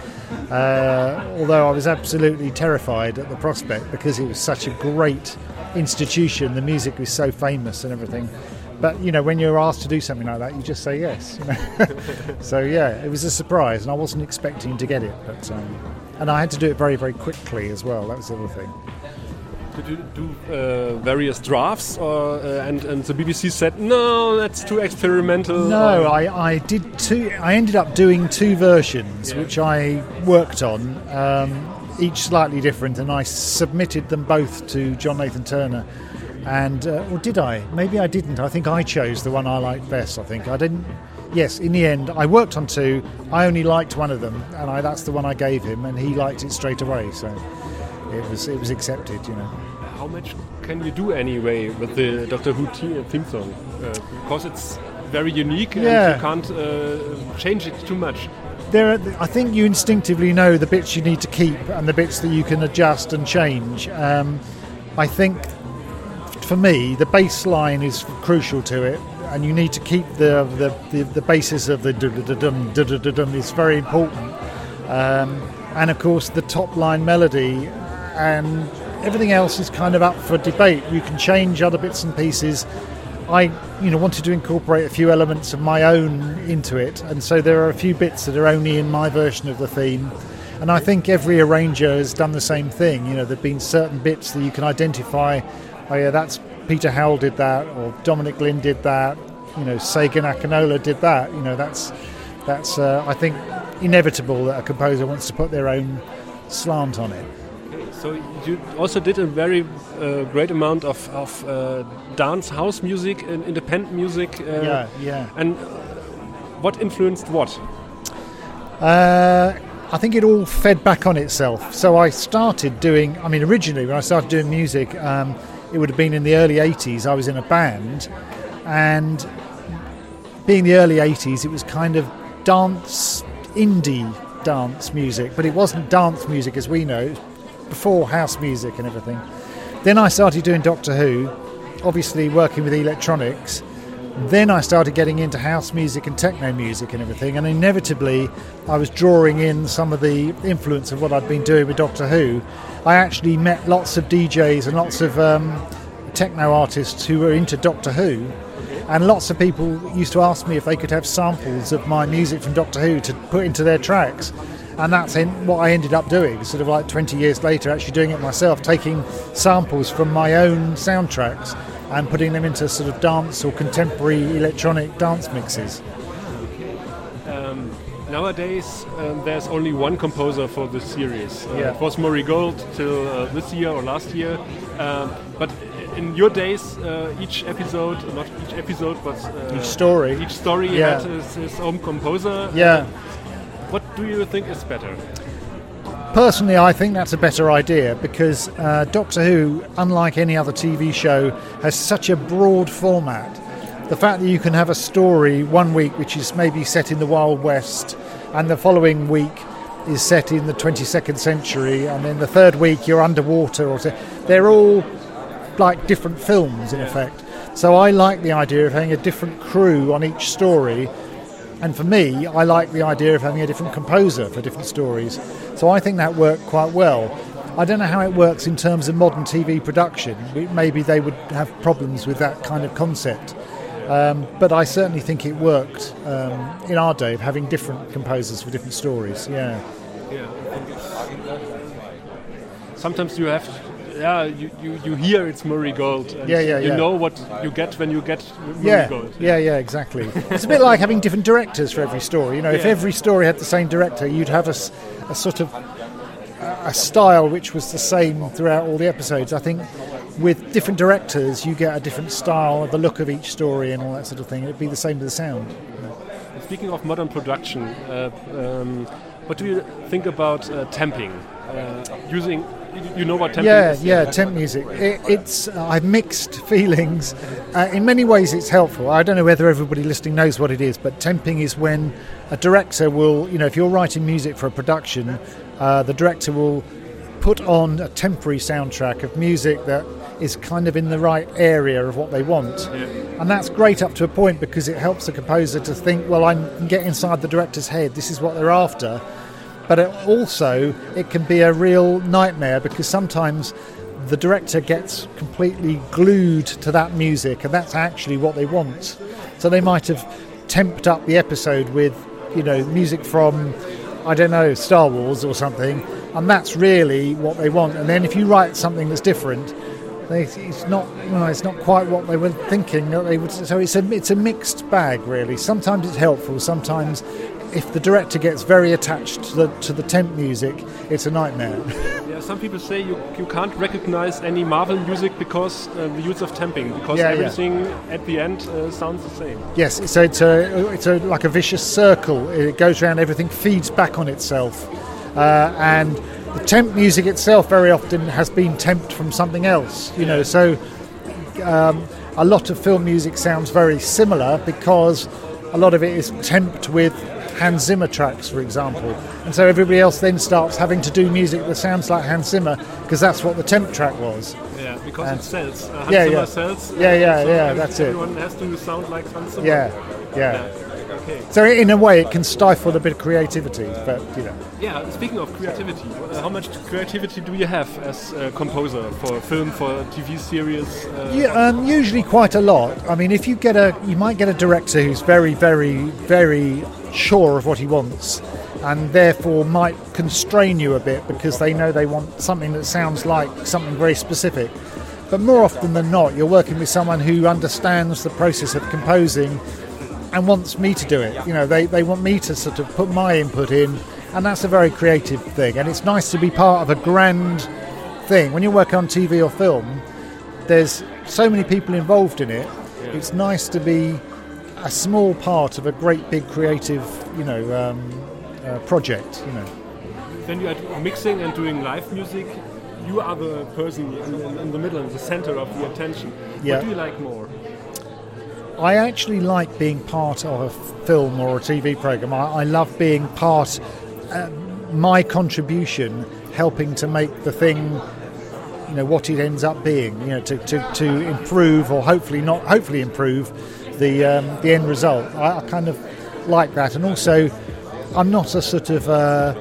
uh, although I was absolutely terrified at the prospect because it was such a great institution, the music was so famous and everything. But, you know, when you're asked to do something like that, you just say yes. You know? So, yeah, it was a surprise, and I wasn't expecting to get it. But um, and I had to do it very, very quickly as well. That was the other thing. Did you do uh, various drafts, or, uh, and, and the B B C said, no, that's too experimental? No, I, I did two. I ended up doing two versions, yeah. which I worked on, um, each slightly different, and I submitted them both to John Nathan Turner. And, uh, or did I? Maybe I didn't. I think I chose the one I liked best, I think. I didn't. yes, in the end, I worked on two. I only liked one of them, and I, that's the one I gave him, and he liked it straight away. So it was it was accepted, you know. How much can you do anyway with the Doctor Who te- theme song? Uh, because it's very unique, yeah. and you can't uh, change it too much. There, are, I think you instinctively know the bits you need to keep and the bits that you can adjust and change. Um, I think, for me, the bass line is crucial to it, and you need to keep the the, the, the basis of the dum dum dum dum is very important. Um, and of course, the top line melody and everything else is kind of up for debate. You can change other bits and pieces. I, you know, wanted to incorporate a few elements of my own into it, and so there are a few bits that are only in my version of the theme. And I think every arranger has done the same thing. You know, there've been certain bits that you can identify. Oh yeah, that's Peter Howell did that, or Dominic Glynn did that. You know, Sagan Akinola did that. You know, that's that's uh, I think inevitable that a composer wants to put their own slant on it. So you also did a very uh, great amount of, of uh, dance, house music, and independent music. Uh, yeah, yeah. And what influenced what? Uh, I think it all fed back on itself. So I started doing, I mean, originally when I started doing music, um, it would have been in the early eighties. I was in a band, and being the early eighties, it was kind of dance, indie dance music, but it wasn't dance music as we know. Before house music and everything. Then I started doing Doctor Who, obviously working with electronics. Then I started getting into house music and techno music and everything, and inevitably I was drawing in some of the influence of what I'd been doing with Doctor Who. I actually met lots of D Js and lots of um, techno artists who were into Doctor Who, and lots of people used to ask me if they could have samples of my music from Doctor Who to put into their tracks. And that's what I ended up doing, sort of like twenty years later, actually doing it myself, taking samples from my own soundtracks and putting them into sort of dance or contemporary electronic dance mixes. Um, nowadays, um, there's only one composer for the series. Uh, yeah. It was Murray Gold till uh, this year or last year. Um, but in your days, uh, each episode, not each episode, but uh, each story, each story yeah. had his, his own composer. Yeah. What do you think is better? Personally, I think that's a better idea because uh, Doctor Who, unlike any other T V show, has such a broad format. The fact that you can have a story one week which is maybe set in the Wild West, and the following week is set in the twenty-second century, and then the third week you're underwater, or so, they're all like different films in yeah. effect. So I like the idea of having a different crew on each story. And for me, I like the idea of having a different composer for different stories. So I think that worked quite well. I don't know how it works in terms of modern T V production. Maybe they would have problems with that kind of concept. Um, but I certainly think it worked um, in our day of having different composers for different stories. Yeah. Yeah. Sometimes you have... Yeah, you, you, you hear it's Murray Gold. And yeah, yeah, you yeah. know what you get when you get Murray yeah, Gold. Yeah, yeah, exactly. It's a bit like having different directors for every story. You know, yeah. if every story had the same director, you'd have a, a sort of a style which was the same throughout all the episodes. I think with different directors, you get a different style, the look of each story and all that sort of thing. It'd be the same with the sound. Speaking of modern production, uh, um, what do you think about uh, temping? Uh, using, you know what temping yeah, is? Yeah, yeah, temp music. It, it's uh, I've mixed feelings. Uh, in many ways, it's helpful. I don't know whether everybody listening knows what it is, but temping is when a director will, you know, if you're writing music for a production, uh, the director will put on a temporary soundtrack of music that is kind of in the right area of what they want. Yeah. And that's great up to a point because it helps the composer to think, well, I can get inside the director's head, this is what they're after. But it also, it can be a real nightmare because sometimes the director gets completely glued to that music and that's actually what they want. So they might have temped up the episode with, you know, music from, I don't know, Star Wars or something, and that's really what they want. And then if you write something that's different, they, it's not, you know, it's not quite what they were thinking. That they would, so it's a it's a mixed bag, really. Sometimes it's helpful, sometimes if the director gets very attached to the, to the temp music, it's a nightmare. Yeah, some people say you, you can't recognize any Marvel music because uh, the use of temping, because yeah, everything yeah. at the end uh, sounds the same. Yes, so it's a it's a like a vicious circle. It goes around, everything feeds back on itself, uh, and the temp music itself very often has been temped from something else. You know, so um, a lot of film music sounds very similar because a lot of it is temped with Hans Zimmer tracks, for example, and so everybody else then starts having to do music that sounds like Hans Zimmer because that's what the temp track was. Yeah, because and it sells. Uh, Hans yeah, Zimmer yeah. sells. Yeah, yeah, so yeah. That's everyone it. Everyone has to sound like Hans Zimmer. Yeah, yeah. yeah. Okay. So in a way, it can stifle a bit of creativity, but you know. Yeah. Speaking of creativity, uh, how much creativity do you have as a composer for film, for T V series? Uh, yeah, um, usually quite a lot. I mean, if you get a, you might get a director who's very, very, very sure of what he wants, and therefore might constrain you a bit because they know they want something that sounds like something very specific. But more often than not, you're working with someone who understands the process of composing and wants me to do it. You know, they, they want me to sort of put my input in, and that's a very creative thing. And it's nice to be part of a grand thing. When you work on T V or film, there's so many people involved in it. It's nice to be a small part of a great big creative, you know, um, uh, project, you know. When you are mixing and doing live music, you are the person in, in, in the middle, in the center of the attention. Yeah. What do you like more? I actually like being part of a film or a T V program. I, I love being part, uh, my contribution, helping to make the thing, you know, what it ends up being. You know, to, to, to improve or hopefully not, hopefully improve the um, the end result. I, I kind of like that, and also, I'm not a sort of, uh,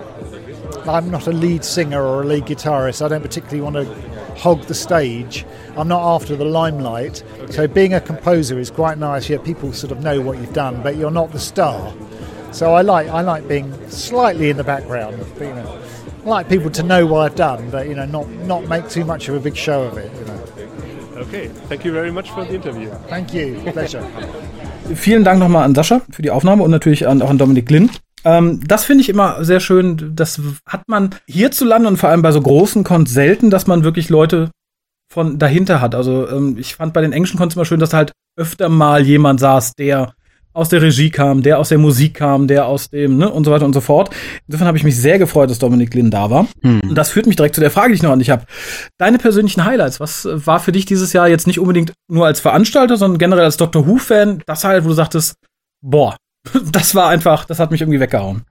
I'm not a lead singer or a lead guitarist. I don't particularly want to hog the stage. I'm not after the limelight. Okay. So being a composer is quite nice. Yeah, people sort of know what you've done, but you're not the star. So I like I like being slightly in the background. But, you know, I like people to know what I've done, but you know, not not make too much of a big show of it. You know. Okay, thank you very much for the interview. Thank you, pleasure. Vielen Dank nochmal an Sascha für die Aufnahme und natürlich an, auch an Dominik Lind. Ähm, das finde ich immer sehr schön. Das hat man hierzulande und vor allem bei so großen Cons selten, dass man wirklich Leute von dahinter hat. Also ähm, ich fand bei den englischen Cons immer schön, dass halt öfter mal jemand saß, der aus der Regie kam, der aus der Musik kam, der aus dem, ne, und so weiter und so fort. Insofern habe ich mich sehr gefreut, dass Dominik Lind da war. Hm. Und das führt mich direkt zu der Frage, die ich noch an dich habe. Deine persönlichen Highlights, was war für dich dieses Jahr jetzt nicht unbedingt nur als Veranstalter, sondern generell als Doctor Who-Fan, das halt, wo du sagtest, boah, das war einfach, das hat mich irgendwie weggehauen.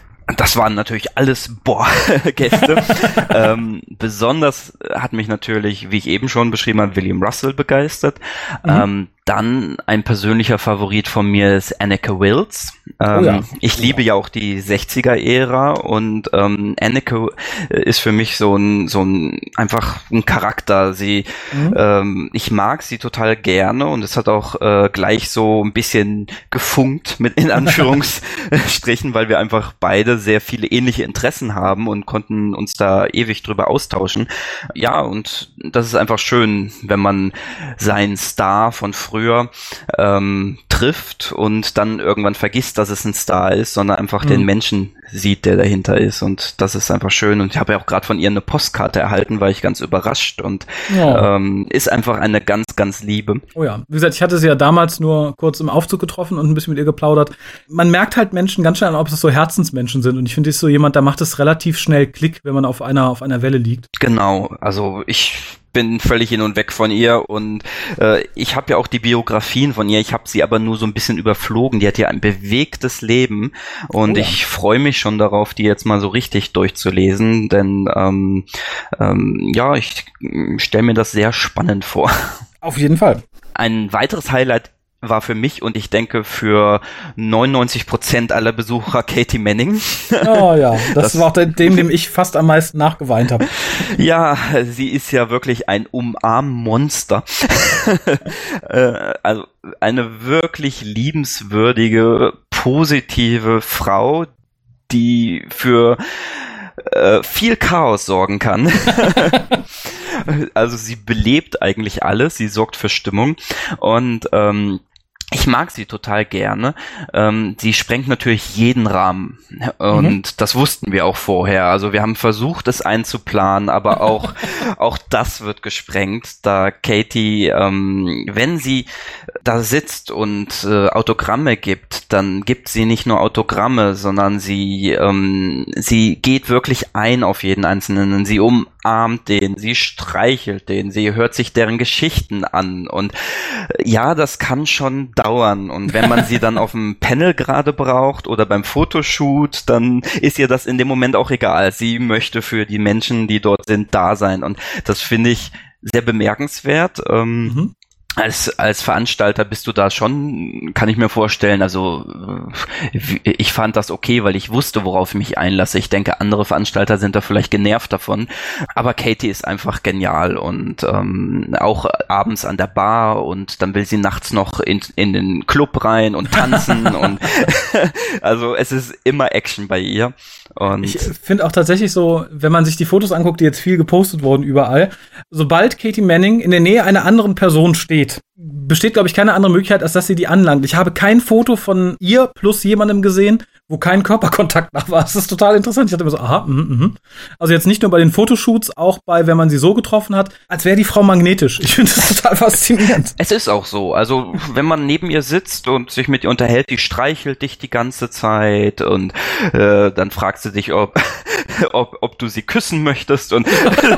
Das waren natürlich alles, boah, Gäste. ähm, besonders hat mich natürlich, wie ich eben schon beschrieben habe, William Russell begeistert. Mhm. Ähm, dann ein persönlicher Favorit von mir ist Anneke Wills. Ähm, oh ja. Ich liebe ja auch die sechziger-Ära und ähm, Anneke ist für mich so ein, so ein, einfach ein Charakter. Sie, mhm. ähm, ich mag sie total gerne und es hat auch äh, gleich so ein bisschen gefunkt mit in Anführungsstrichen, weil wir einfach beide sehr viele ähnliche Interessen haben und konnten uns da ewig drüber austauschen. Ja, und das ist einfach schön, wenn man seinen Star von früher ähm, trifft und dann irgendwann vergisst, dass es ein Star ist, sondern einfach mhm. den Menschen sieht, der dahinter ist, und das ist einfach schön. Und ich habe ja auch gerade von ihr eine Postkarte erhalten, war ich ganz überrascht und ja. ähm, ist einfach eine ganz, ganz liebe. Oh ja, wie gesagt, ich hatte sie ja damals nur kurz im Aufzug getroffen und ein bisschen mit ihr geplaudert. Man merkt halt Menschen ganz schnell an, ob es so Herzensmenschen sind, und ich finde, ist so jemand, da macht es relativ schnell Klick, wenn man auf einer auf einer Welle liegt. Genau, also ich bin völlig hin und weg von ihr, und äh, ich habe ja auch die Biografien von ihr, ich habe sie aber nur so ein bisschen überflogen. Die hat ja ein bewegtes Leben, und oh ja. ich freue mich schon darauf, die jetzt mal so richtig durchzulesen, denn ähm, ähm, ja, ich stelle mir das sehr spannend vor. Auf jeden Fall. Ein weiteres Highlight war für mich und ich denke für neunundneunzig Prozent aller Besucher Katy Manning. Oh ja, das, das war auch dem, dem ich fast am meisten nachgeweint habe. Ja, sie ist ja wirklich ein Umarmmonster. Also eine wirklich liebenswürdige, positive Frau, die für äh, viel Chaos sorgen kann. Also sie belebt eigentlich alles, sie sorgt für Stimmung, und ähm, Ich mag sie total gerne. Ähm, sie sprengt natürlich jeden Rahmen. Und mhm. das wussten wir auch vorher. Also wir haben versucht, es einzuplanen, aber auch, auch das wird gesprengt, da Katie, ähm, wenn sie da sitzt und äh, Autogramme gibt, dann gibt sie nicht nur Autogramme, sondern sie, ähm, sie geht wirklich ein auf jeden Einzelnen. Sie umarmt den, sie streichelt den, sie hört sich deren Geschichten an. Und äh, ja, das kann schon dauern, und wenn man sie dann auf dem Panel gerade braucht oder beim Fotoshoot, dann ist ihr das in dem Moment auch egal. Sie möchte für die Menschen, die dort sind, da sein, und das finde ich sehr bemerkenswert. Ähm, mhm. Als, als Veranstalter bist du da schon, kann ich mir vorstellen, also ich fand das okay, weil ich wusste, worauf ich mich einlasse. Ich denke, andere Veranstalter sind da vielleicht genervt davon, aber Katie ist einfach genial, und ähm, auch abends an der Bar, und dann will sie nachts noch in, in den Club rein und tanzen und also es ist immer Action bei ihr. Und ich finde auch tatsächlich so, wenn man sich die Fotos anguckt, die jetzt viel gepostet wurden überall, sobald Katie Manning in der Nähe einer anderen Person steht, besteht, glaube ich, keine andere Möglichkeit, als dass sie die anlangt. Ich habe kein Foto von ihr plus jemandem gesehen, wo kein Körperkontakt nach war. Das ist total interessant. Ich dachte immer so, aha, mhm, mhm. Also jetzt nicht nur bei den Fotoshoots, auch bei, wenn man sie so getroffen hat, als wäre die Frau magnetisch. Ich finde das total faszinierend. Es ist auch so. Also, wenn man neben ihr sitzt und sich mit ihr unterhält, die streichelt dich die ganze Zeit, und äh, dann fragst du dich, ob, ob, ob du sie küssen möchtest, und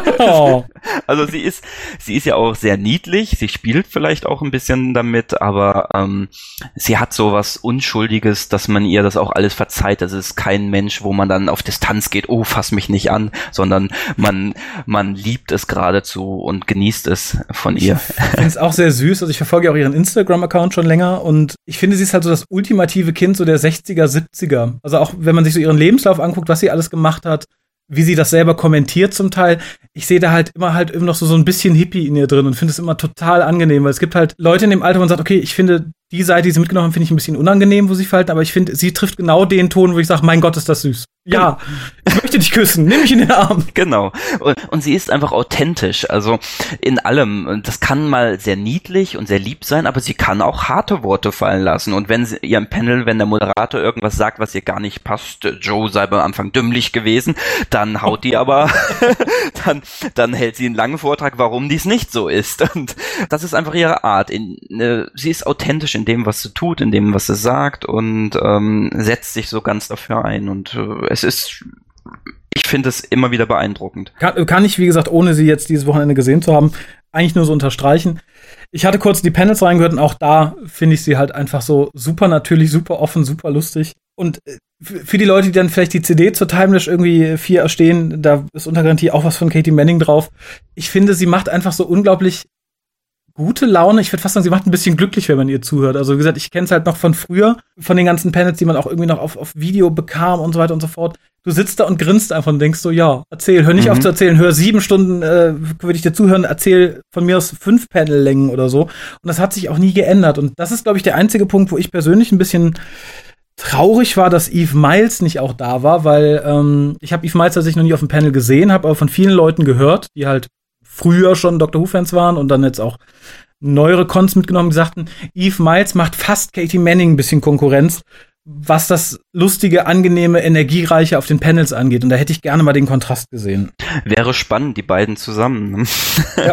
oh. Also sie ist, sie ist ja auch sehr niedlich, sie spielt vielleicht auch ein bisschen damit, aber ähm, sie hat so was Unschuldiges, dass man ihr das auch alles verzeiht. Das ist kein Mensch, wo man dann auf Distanz geht, oh, fass mich nicht an, sondern man, man liebt es geradezu und genießt es von ihr. Ich finde es auch sehr süß, also ich verfolge auch ihren Instagram-Account schon länger, und ich finde, sie ist halt so das ultimative Kind so der sechziger, siebziger. Also auch wenn man sich so ihren Lebenslauf anguckt, was sie alles gemacht hat, wie sie das selber kommentiert zum Teil. Ich sehe da halt immer halt immer noch so, so ein bisschen Hippie in ihr drin und finde es immer total angenehm, weil es gibt halt Leute in dem Alter, wo man sagt, okay, ich finde die Seite, die sie mitgenommen haben, finde ich ein bisschen unangenehm, wo sie verhalten, aber ich finde, sie trifft genau den Ton, wo ich sage, mein Gott, ist das süß. Ja, ich möchte dich küssen, nimm mich in den Arm. Genau. Und, und sie ist einfach authentisch, also in allem. Das kann mal sehr niedlich und sehr lieb sein, aber sie kann auch harte Worte fallen lassen. Und wenn sie ihrem Panel, wenn der Moderator irgendwas sagt, was ihr gar nicht passt, Joe sei am Anfang dümmlich gewesen, dann haut die aber, dann, dann hält sie einen langen Vortrag, warum dies nicht so ist. Und das ist einfach ihre Art. In, äh, sie ist authentisch in dem, was sie tut, in dem, was sie sagt, und ähm, setzt sich so ganz dafür ein. Und äh, es ist, ich finde es immer wieder beeindruckend. Kann, kann ich, wie gesagt, ohne sie jetzt dieses Wochenende gesehen zu haben, eigentlich nur so unterstreichen. Ich hatte kurz die Panels reingehört, und auch da finde ich sie halt einfach so super natürlich, super offen, super lustig. Und für die Leute, die dann vielleicht die C D zur Timelash irgendwie vier erstehen, da ist unter Garantie auch was von Katie Manning drauf. Ich finde, sie macht einfach so unglaublich gute Laune. Ich würde fast sagen, sie macht ein bisschen glücklich, wenn man ihr zuhört. Also wie gesagt, ich kenne es halt noch von früher, von den ganzen Panels, die man auch irgendwie noch auf, auf Video bekam und so weiter und so fort. Du sitzt da und grinst einfach und denkst so, ja, erzähl, hör nicht mhm. auf zu erzählen, hör sieben Stunden, äh, würde ich dir zuhören, erzähl von mir aus fünf Panellängen oder so. Und das hat sich auch nie geändert. Und das ist, glaube ich, der einzige Punkt, wo ich persönlich ein bisschen traurig war, dass Eve Miles nicht auch da war, weil ähm, ich habe Eve Miles tatsächlich noch nie auf dem Panel gesehen, habe aber von vielen Leuten gehört, die halt früher schon Doctor Who-Fans waren und dann jetzt auch neuere Cons mitgenommen, die sagten, Eve Miles macht fast Katie Manning ein bisschen Konkurrenz, was das lustige, angenehme, energiereiche auf den Panels angeht. Und da hätte ich gerne mal den Kontrast gesehen. Wäre spannend, die beiden zusammen. Ja.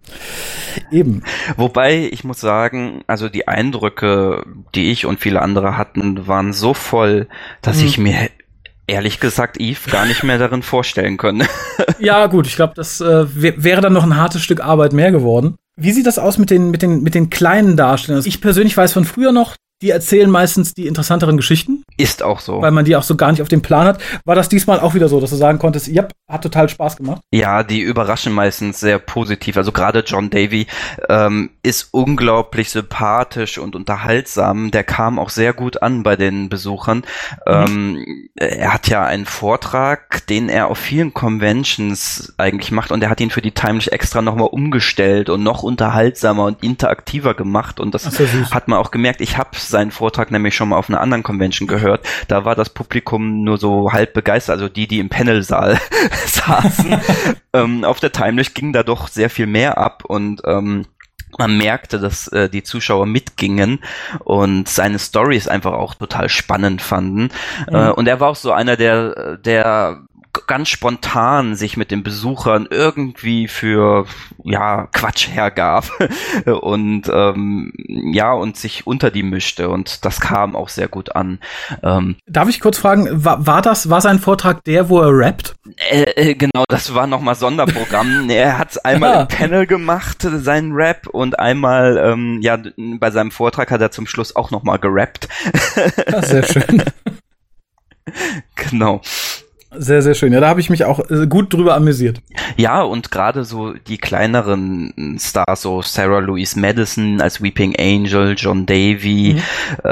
Eben. Wobei, ich muss sagen, also die Eindrücke, die ich und viele andere hatten, waren so voll, dass hm. ich mir ehrlich gesagt Eve gar nicht mehr darin vorstellen können. Ja, gut, ich glaube, das äh, wäre dann noch ein hartes Stück Arbeit mehr geworden. Wie sieht das aus mit den, mit den, mit den kleinen Darstellern? Also ich persönlich weiß von früher noch, die erzählen meistens die interessanteren Geschichten. Ist auch so. Weil man die auch so gar nicht auf dem Plan hat. War das diesmal auch wieder so, dass du sagen konntest, ja, hat total Spaß gemacht? Ja, die überraschen meistens sehr positiv. Also gerade John Davy ähm, ist unglaublich sympathisch und unterhaltsam. Der kam auch sehr gut an bei den Besuchern. Mhm. Ähm, er hat ja einen Vortrag, den er auf vielen Conventions eigentlich macht, und er hat ihn für die Timelash extra nochmal umgestellt und noch unterhaltsamer und interaktiver gemacht, und das Ach, so hat man auch gemerkt. Ich habe seinen Vortrag nämlich schon mal auf einer anderen Convention gehört. Da war das Publikum nur so halb begeistert, also die, die im Panelsaal saßen. ähm, auf der Timelash ging da doch sehr viel mehr ab, und ähm, man merkte, dass äh, die Zuschauer mitgingen und seine Storys einfach auch total spannend fanden. Mhm. Äh, und er war auch so einer, der, der ganz spontan sich mit den Besuchern irgendwie für ja Quatsch hergab und ähm, ja und sich unter die mischte, und das kam auch sehr gut an. Ähm, Darf ich kurz fragen, war, war das war sein Vortrag der, wo er rappt? Äh, äh, genau, das war nochmal Sonderprogramm. Er hat einmal ja. im Panel gemacht, seinen Rap, und einmal ähm, ja bei seinem Vortrag hat er zum Schluss auch nochmal gerappt. Ja, sehr schön. Genau. Sehr, sehr schön. Ja, da habe ich mich auch gut drüber amüsiert. Ja, und gerade so die kleineren Stars, so Sarah Louise Madison als Weeping Angel, John Davy, mhm.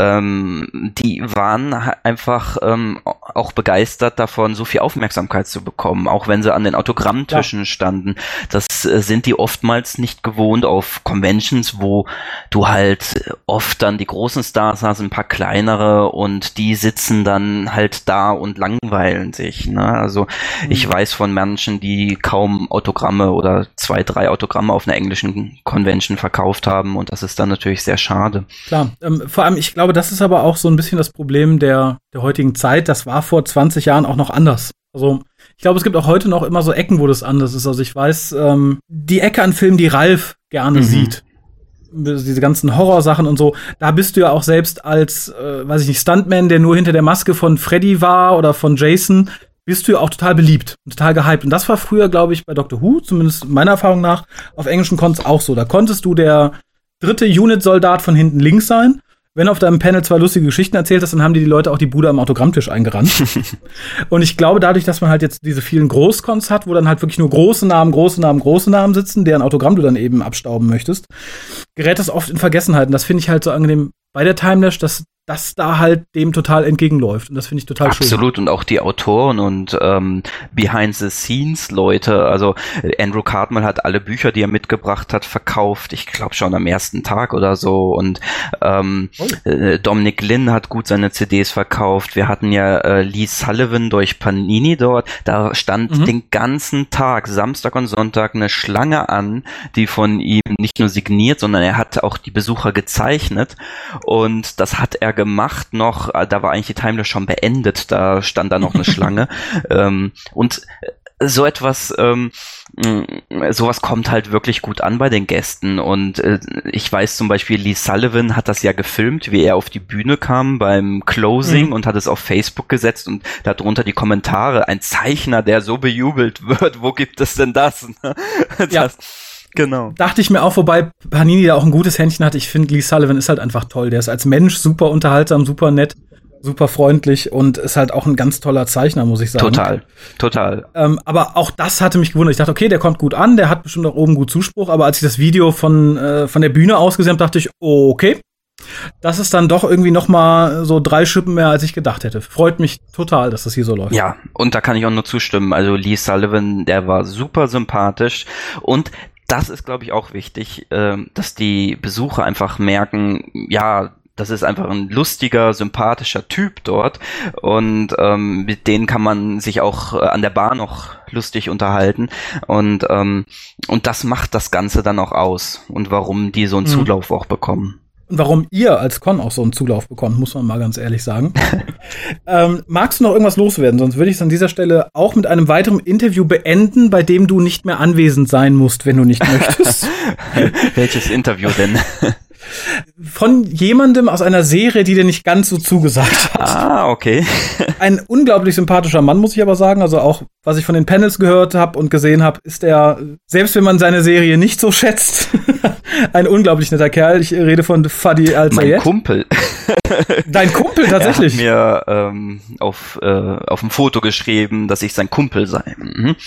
ähm, die waren einfach ähm, auch begeistert davon, so viel Aufmerksamkeit zu bekommen, auch wenn sie an den Autogrammtischen ja. standen. Das äh, sind die oftmals nicht gewohnt auf Conventions, wo du halt oft dann die großen Stars hast, ein paar kleinere, und die sitzen dann halt da und langweilen sich. Ne? Also mhm. ich weiß von Menschen, die kaum Autogramme oder zwei, drei Autogramme auf einer englischen Convention verkauft haben, und das ist dann natürlich sehr schade. Klar, ähm, vor allem, ich glaube, das ist aber auch so ein bisschen das Problem der, der heutigen Zeit. Das war vor zwanzig Jahren auch noch anders. Also ich glaube, es gibt auch heute noch immer so Ecken, wo das anders ist. Also ich weiß, ähm, die Ecke an Filmen, die Ralf gerne mhm. sieht, diese ganzen Horrorsachen und so, da bist du ja auch selbst als, äh, weiß ich nicht, Stuntman, der nur hinter der Maske von Freddy war oder von Jason, bist du ja auch total beliebt und total gehypt. Und das war früher, glaube ich, bei Doctor Who, zumindest meiner Erfahrung nach, auf englischen Cons auch so. Da konntest du der dritte Unit-Soldat von hinten links sein. Wenn du auf deinem Panel zwei lustige Geschichten erzählt hast, dann haben dir die Leute auch die Bude am Autogrammtisch eingerannt. Und ich glaube, dadurch, dass man halt jetzt diese vielen Großcons hat, wo dann halt wirklich nur große Namen, große Namen, große Namen sitzen, deren Autogramm du dann eben abstauben möchtest, gerät das oft in Vergessenheit. Und das finde ich halt so angenehm bei der Timelash, dass das da halt dem total entgegenläuft. Und das finde ich total Absolut. schön. Absolut. Und auch die Autoren und ähm, Behind-the-Scenes-Leute. Also Andrew Cartmel hat alle Bücher, die er mitgebracht hat, verkauft. Ich glaube schon am ersten Tag oder so. Und ähm, oh. äh, Dominic Lynn hat gut seine C Ds verkauft. Wir hatten ja äh, Lee Sullivan durch Panini dort. Da stand mhm. den ganzen Tag, Samstag und Sonntag, eine Schlange an, die von ihm nicht nur signiert, sondern er hat auch die Besucher gezeichnet. Und das hat er gemacht noch, da war eigentlich die Timelash schon beendet, da stand da noch eine Schlange. ähm, und so etwas, ähm, sowas kommt halt wirklich gut an bei den Gästen, und äh, ich weiß zum Beispiel, Lee Sullivan hat das ja gefilmt, wie er auf die Bühne kam beim Closing mhm. und hat es auf Facebook gesetzt, und darunter die Kommentare, ein Zeichner, der so bejubelt wird, wo gibt es denn das? das ja. Genau. Dachte ich mir auch, wobei Panini da auch ein gutes Händchen hat. Ich finde, Lee Sullivan ist halt einfach toll. Der ist als Mensch super unterhaltsam, super nett, super freundlich und ist halt auch ein ganz toller Zeichner, muss ich sagen. Total, total. Ähm, aber auch das hatte mich gewundert. Ich dachte, okay, der kommt gut an, der hat bestimmt auch oben gut Zuspruch. Aber als ich das Video von äh, von der Bühne aus gesehen habe, dachte ich, oh, okay, das ist dann doch irgendwie noch mal so drei Schippen mehr, als ich gedacht hätte. Freut mich total, dass das hier so läuft. Ja, und da kann ich auch nur zustimmen. Also Lee Sullivan, der war super sympathisch, und das ist, glaube ich, auch wichtig, äh, dass die Besucher einfach merken, ja, das ist einfach ein lustiger, sympathischer Typ dort, und ähm, mit denen kann man sich auch äh, an der Bar noch lustig unterhalten, und ähm, und das macht das Ganze dann auch aus, und warum die so einen mhm. Zulauf auch bekommen. Und warum ihr als Con auch so einen Zulauf bekommt, muss man mal ganz ehrlich sagen. ähm, magst du noch irgendwas loswerden? Sonst würde ich es an dieser Stelle auch mit einem weiteren Interview beenden, bei dem du nicht mehr anwesend sein musst, wenn du nicht möchtest. Welches Interview denn? Von jemandem aus einer Serie, die dir nicht ganz so zugesagt hat. Ah, okay. Ein unglaublich sympathischer Mann, muss ich aber sagen. Also auch, was ich von den Panels gehört habe und gesehen habe, ist er, selbst wenn man seine Serie nicht so schätzt, ein unglaublich netter Kerl. Ich rede von Fadi Al-Sayed. Mein Kumpel. Dein Kumpel, tatsächlich? Er hat mir ähm, auf, äh, auf dem Foto geschrieben, dass ich sein Kumpel sei. Mhm.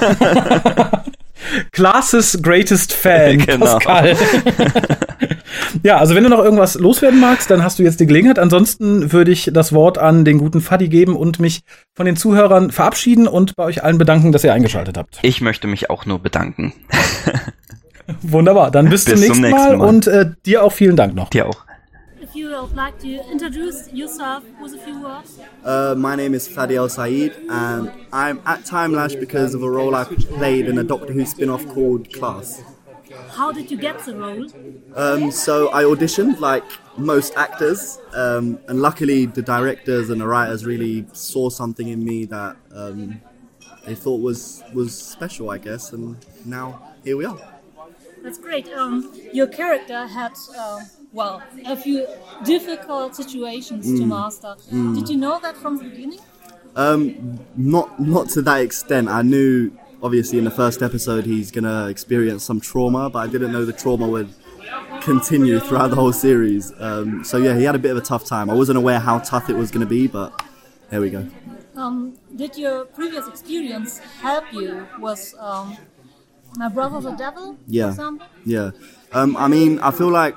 Classes Greatest Fan, genau. Pascal. Ja, also wenn du noch irgendwas loswerden magst, dann hast du jetzt die Gelegenheit. Ansonsten würde ich das Wort an den guten Fadi geben und mich von den Zuhörern verabschieden und bei euch allen bedanken, dass ihr eingeschaltet habt. Ich möchte mich auch nur bedanken. Wunderbar, dann bis, bis zum, nächsten, zum nächsten Mal, Mal und äh, dir auch vielen Dank noch. Dir auch. If you would like to introduce yourself with a few words. Uh, my name is Fadi Al-Sayed, and I'm at Timelash because of a role I played in a Doctor Who spin-off called Class. how did you get the role? Um, so I auditioned like most actors, um, and luckily the directors and the writers really saw something in me that um, they thought was was special, I guess, and now here we are. That's great. Um, your character had, uh, well, a few difficult situations mm. to master. Mm. Did you know that from the beginning? Um, not not to that extent. I knew, obviously, in the first episode he's going to experience some trauma, but I didn't know the trauma would continue throughout the whole series. Um, so yeah, he had a bit of a tough time. I wasn't aware how tough it was going to be, but there we go. Um, did your previous experience help you with um, My Brother the Devil, yeah. for example? Yeah. Um, I mean, I feel like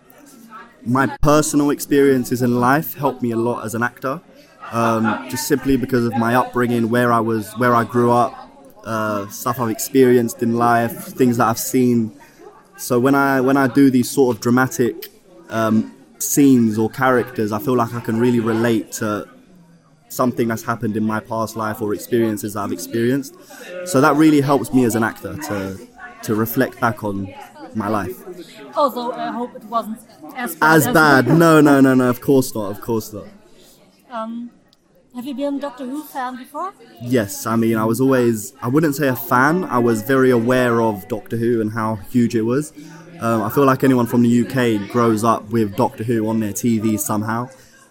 my personal experiences in life helped me a lot as an actor, um, just simply because of my upbringing, where I was, where I grew up, uh, stuff I've experienced in life, things that I've seen. So when I when I do these sort of dramatic um, scenes or characters, I feel like I can really relate to something that's happened in my past life or experiences that I've experienced. So that really helps me as an actor to to reflect back on my life. Although I hope it wasn't as bad. As, as bad. No, no, no, no, of course not, of course not. Um, have you been a Doctor Who fan before? Yes, I mean, I was always, I wouldn't say a fan, I was very aware of Doctor Who and how huge it was. Um, I feel like anyone from the U K grows up with Doctor Who on their T V somehow.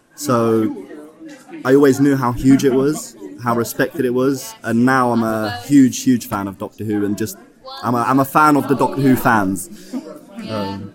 So I always knew how huge it was, how respected it was, and now I'm a huge, huge fan of Doctor Who, and just, I'm a, I'm a fan of the Doctor Who fans. Um,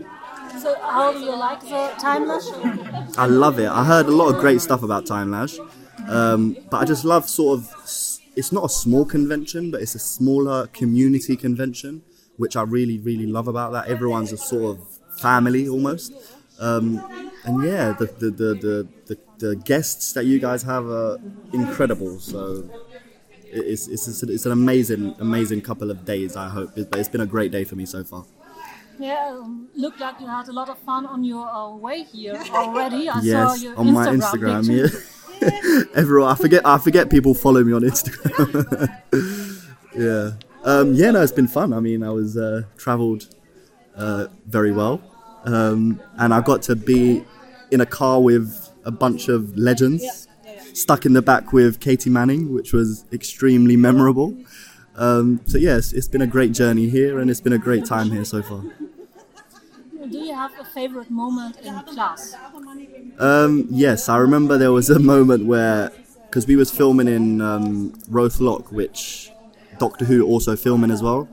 so how do you like the Time Lash? I love it. I heard a lot of great stuff about Time Lash, um, but I just love sort of, it's not a small convention, but it's a smaller community convention, which I really, really love about that. Everyone's a sort of family almost. Um, and yeah, the the, the, the, the the guests that you guys have are incredible. So it's it's it's an amazing, amazing couple of days, I hope. But it's been a great day for me so far. Yeah, um, looked like you had a lot of fun on your uh, way here already. I yes, saw your on Instagram my Instagram. picture. Yeah, everyone. I forget. I forget people follow me on Instagram. yeah, um, yeah. No, it's been fun. I mean, I was uh, travelled uh, very well, um, and I got to be in a car with a bunch of legends, yeah, yeah, yeah. stuck in the back with Katie Manning, which was extremely memorable. Um, so yes, it's been a great journey here, and it's been a great time here so far. Do you have a favorite moment in class? Um, yes, I remember there was a moment where, because we was filming in um, Rothlock, which Doctor Who also filming as well.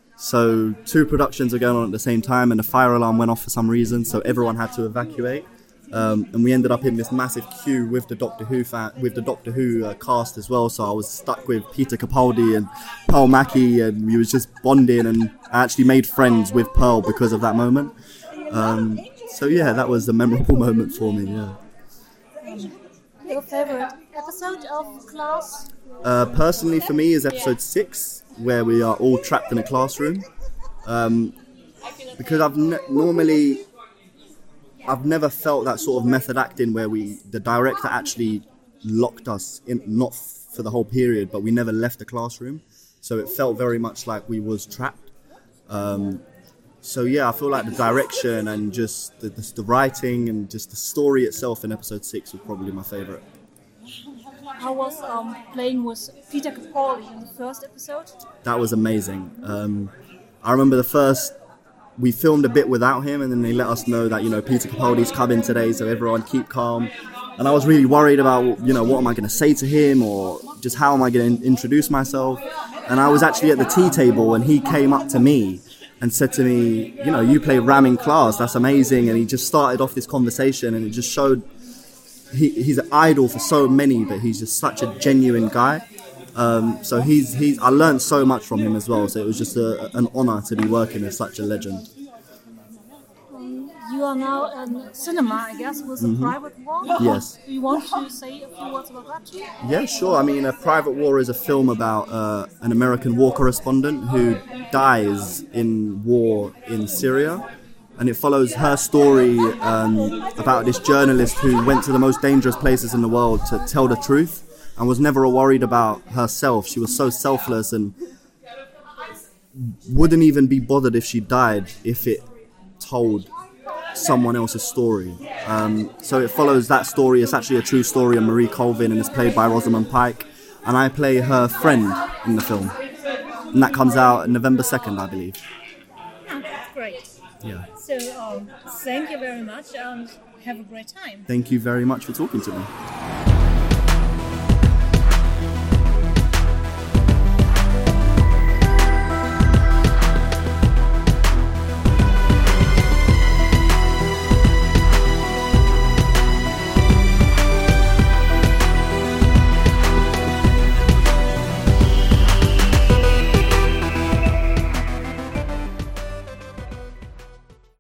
So two productions are going on at the same time, and the fire alarm went off for some reason, so everyone had to evacuate. Um, and we ended up in this massive queue with the Doctor Who fan, with the Doctor Who uh, cast as well. So I was stuck with Peter Capaldi and Pearl Mackie, and we was just bonding. And I actually made friends with Pearl because of that moment. Um, so yeah, that was a memorable moment for me. Yeah. Your favorite episode of Class? Uh, personally, for me, is episode six, where we are all trapped in a classroom. Um, because I've ne- normally. I've never felt that sort of method acting where we, the director actually locked us in, not f- for the whole period, but we never left the classroom. So it felt very much like we was trapped. Um, so yeah, I feel like the direction and just the, the, the writing and just the story itself in episode six was probably my favourite. How was um, playing with Peter Capaldi in the first episode? That was amazing. Um, I remember the first... We filmed a bit without him, and then they let us know that, you know, Peter Capaldi's coming today, so everyone keep calm. And I was really worried about, you know, what am I going to say to him, or just how am I going to introduce myself. And I was actually at the tea table, and he came up to me and said to me, you know, you play Ram in Class, that's amazing. And he just started off this conversation, and it just showed he, he's an idol for so many, but he's just such a genuine guy. Um, so he's he's. I learned so much from him as well. So it was just a, an honour to be working with such a legend. Um, you are now in cinema, I guess, with mm-hmm. A Private War. Yes. Do you want to say a few words about that too? Yeah, sure. I mean, A Private War is a film about uh, an American war correspondent who dies in war in Syria. And it follows her story um, about this journalist who went to the most dangerous places in the world to tell the truth. And was never worried about herself. She was so selfless, and wouldn't even be bothered if she died if it told someone else's story. Um, so it follows that story. It's actually a true story of Marie Colvin, and it's played by Rosamund Pike, and I play her friend in the film, and that comes out November second, I believe. Oh, that's great. Yeah. So um, thank you very much and have a great time. Thank you very much for talking to me.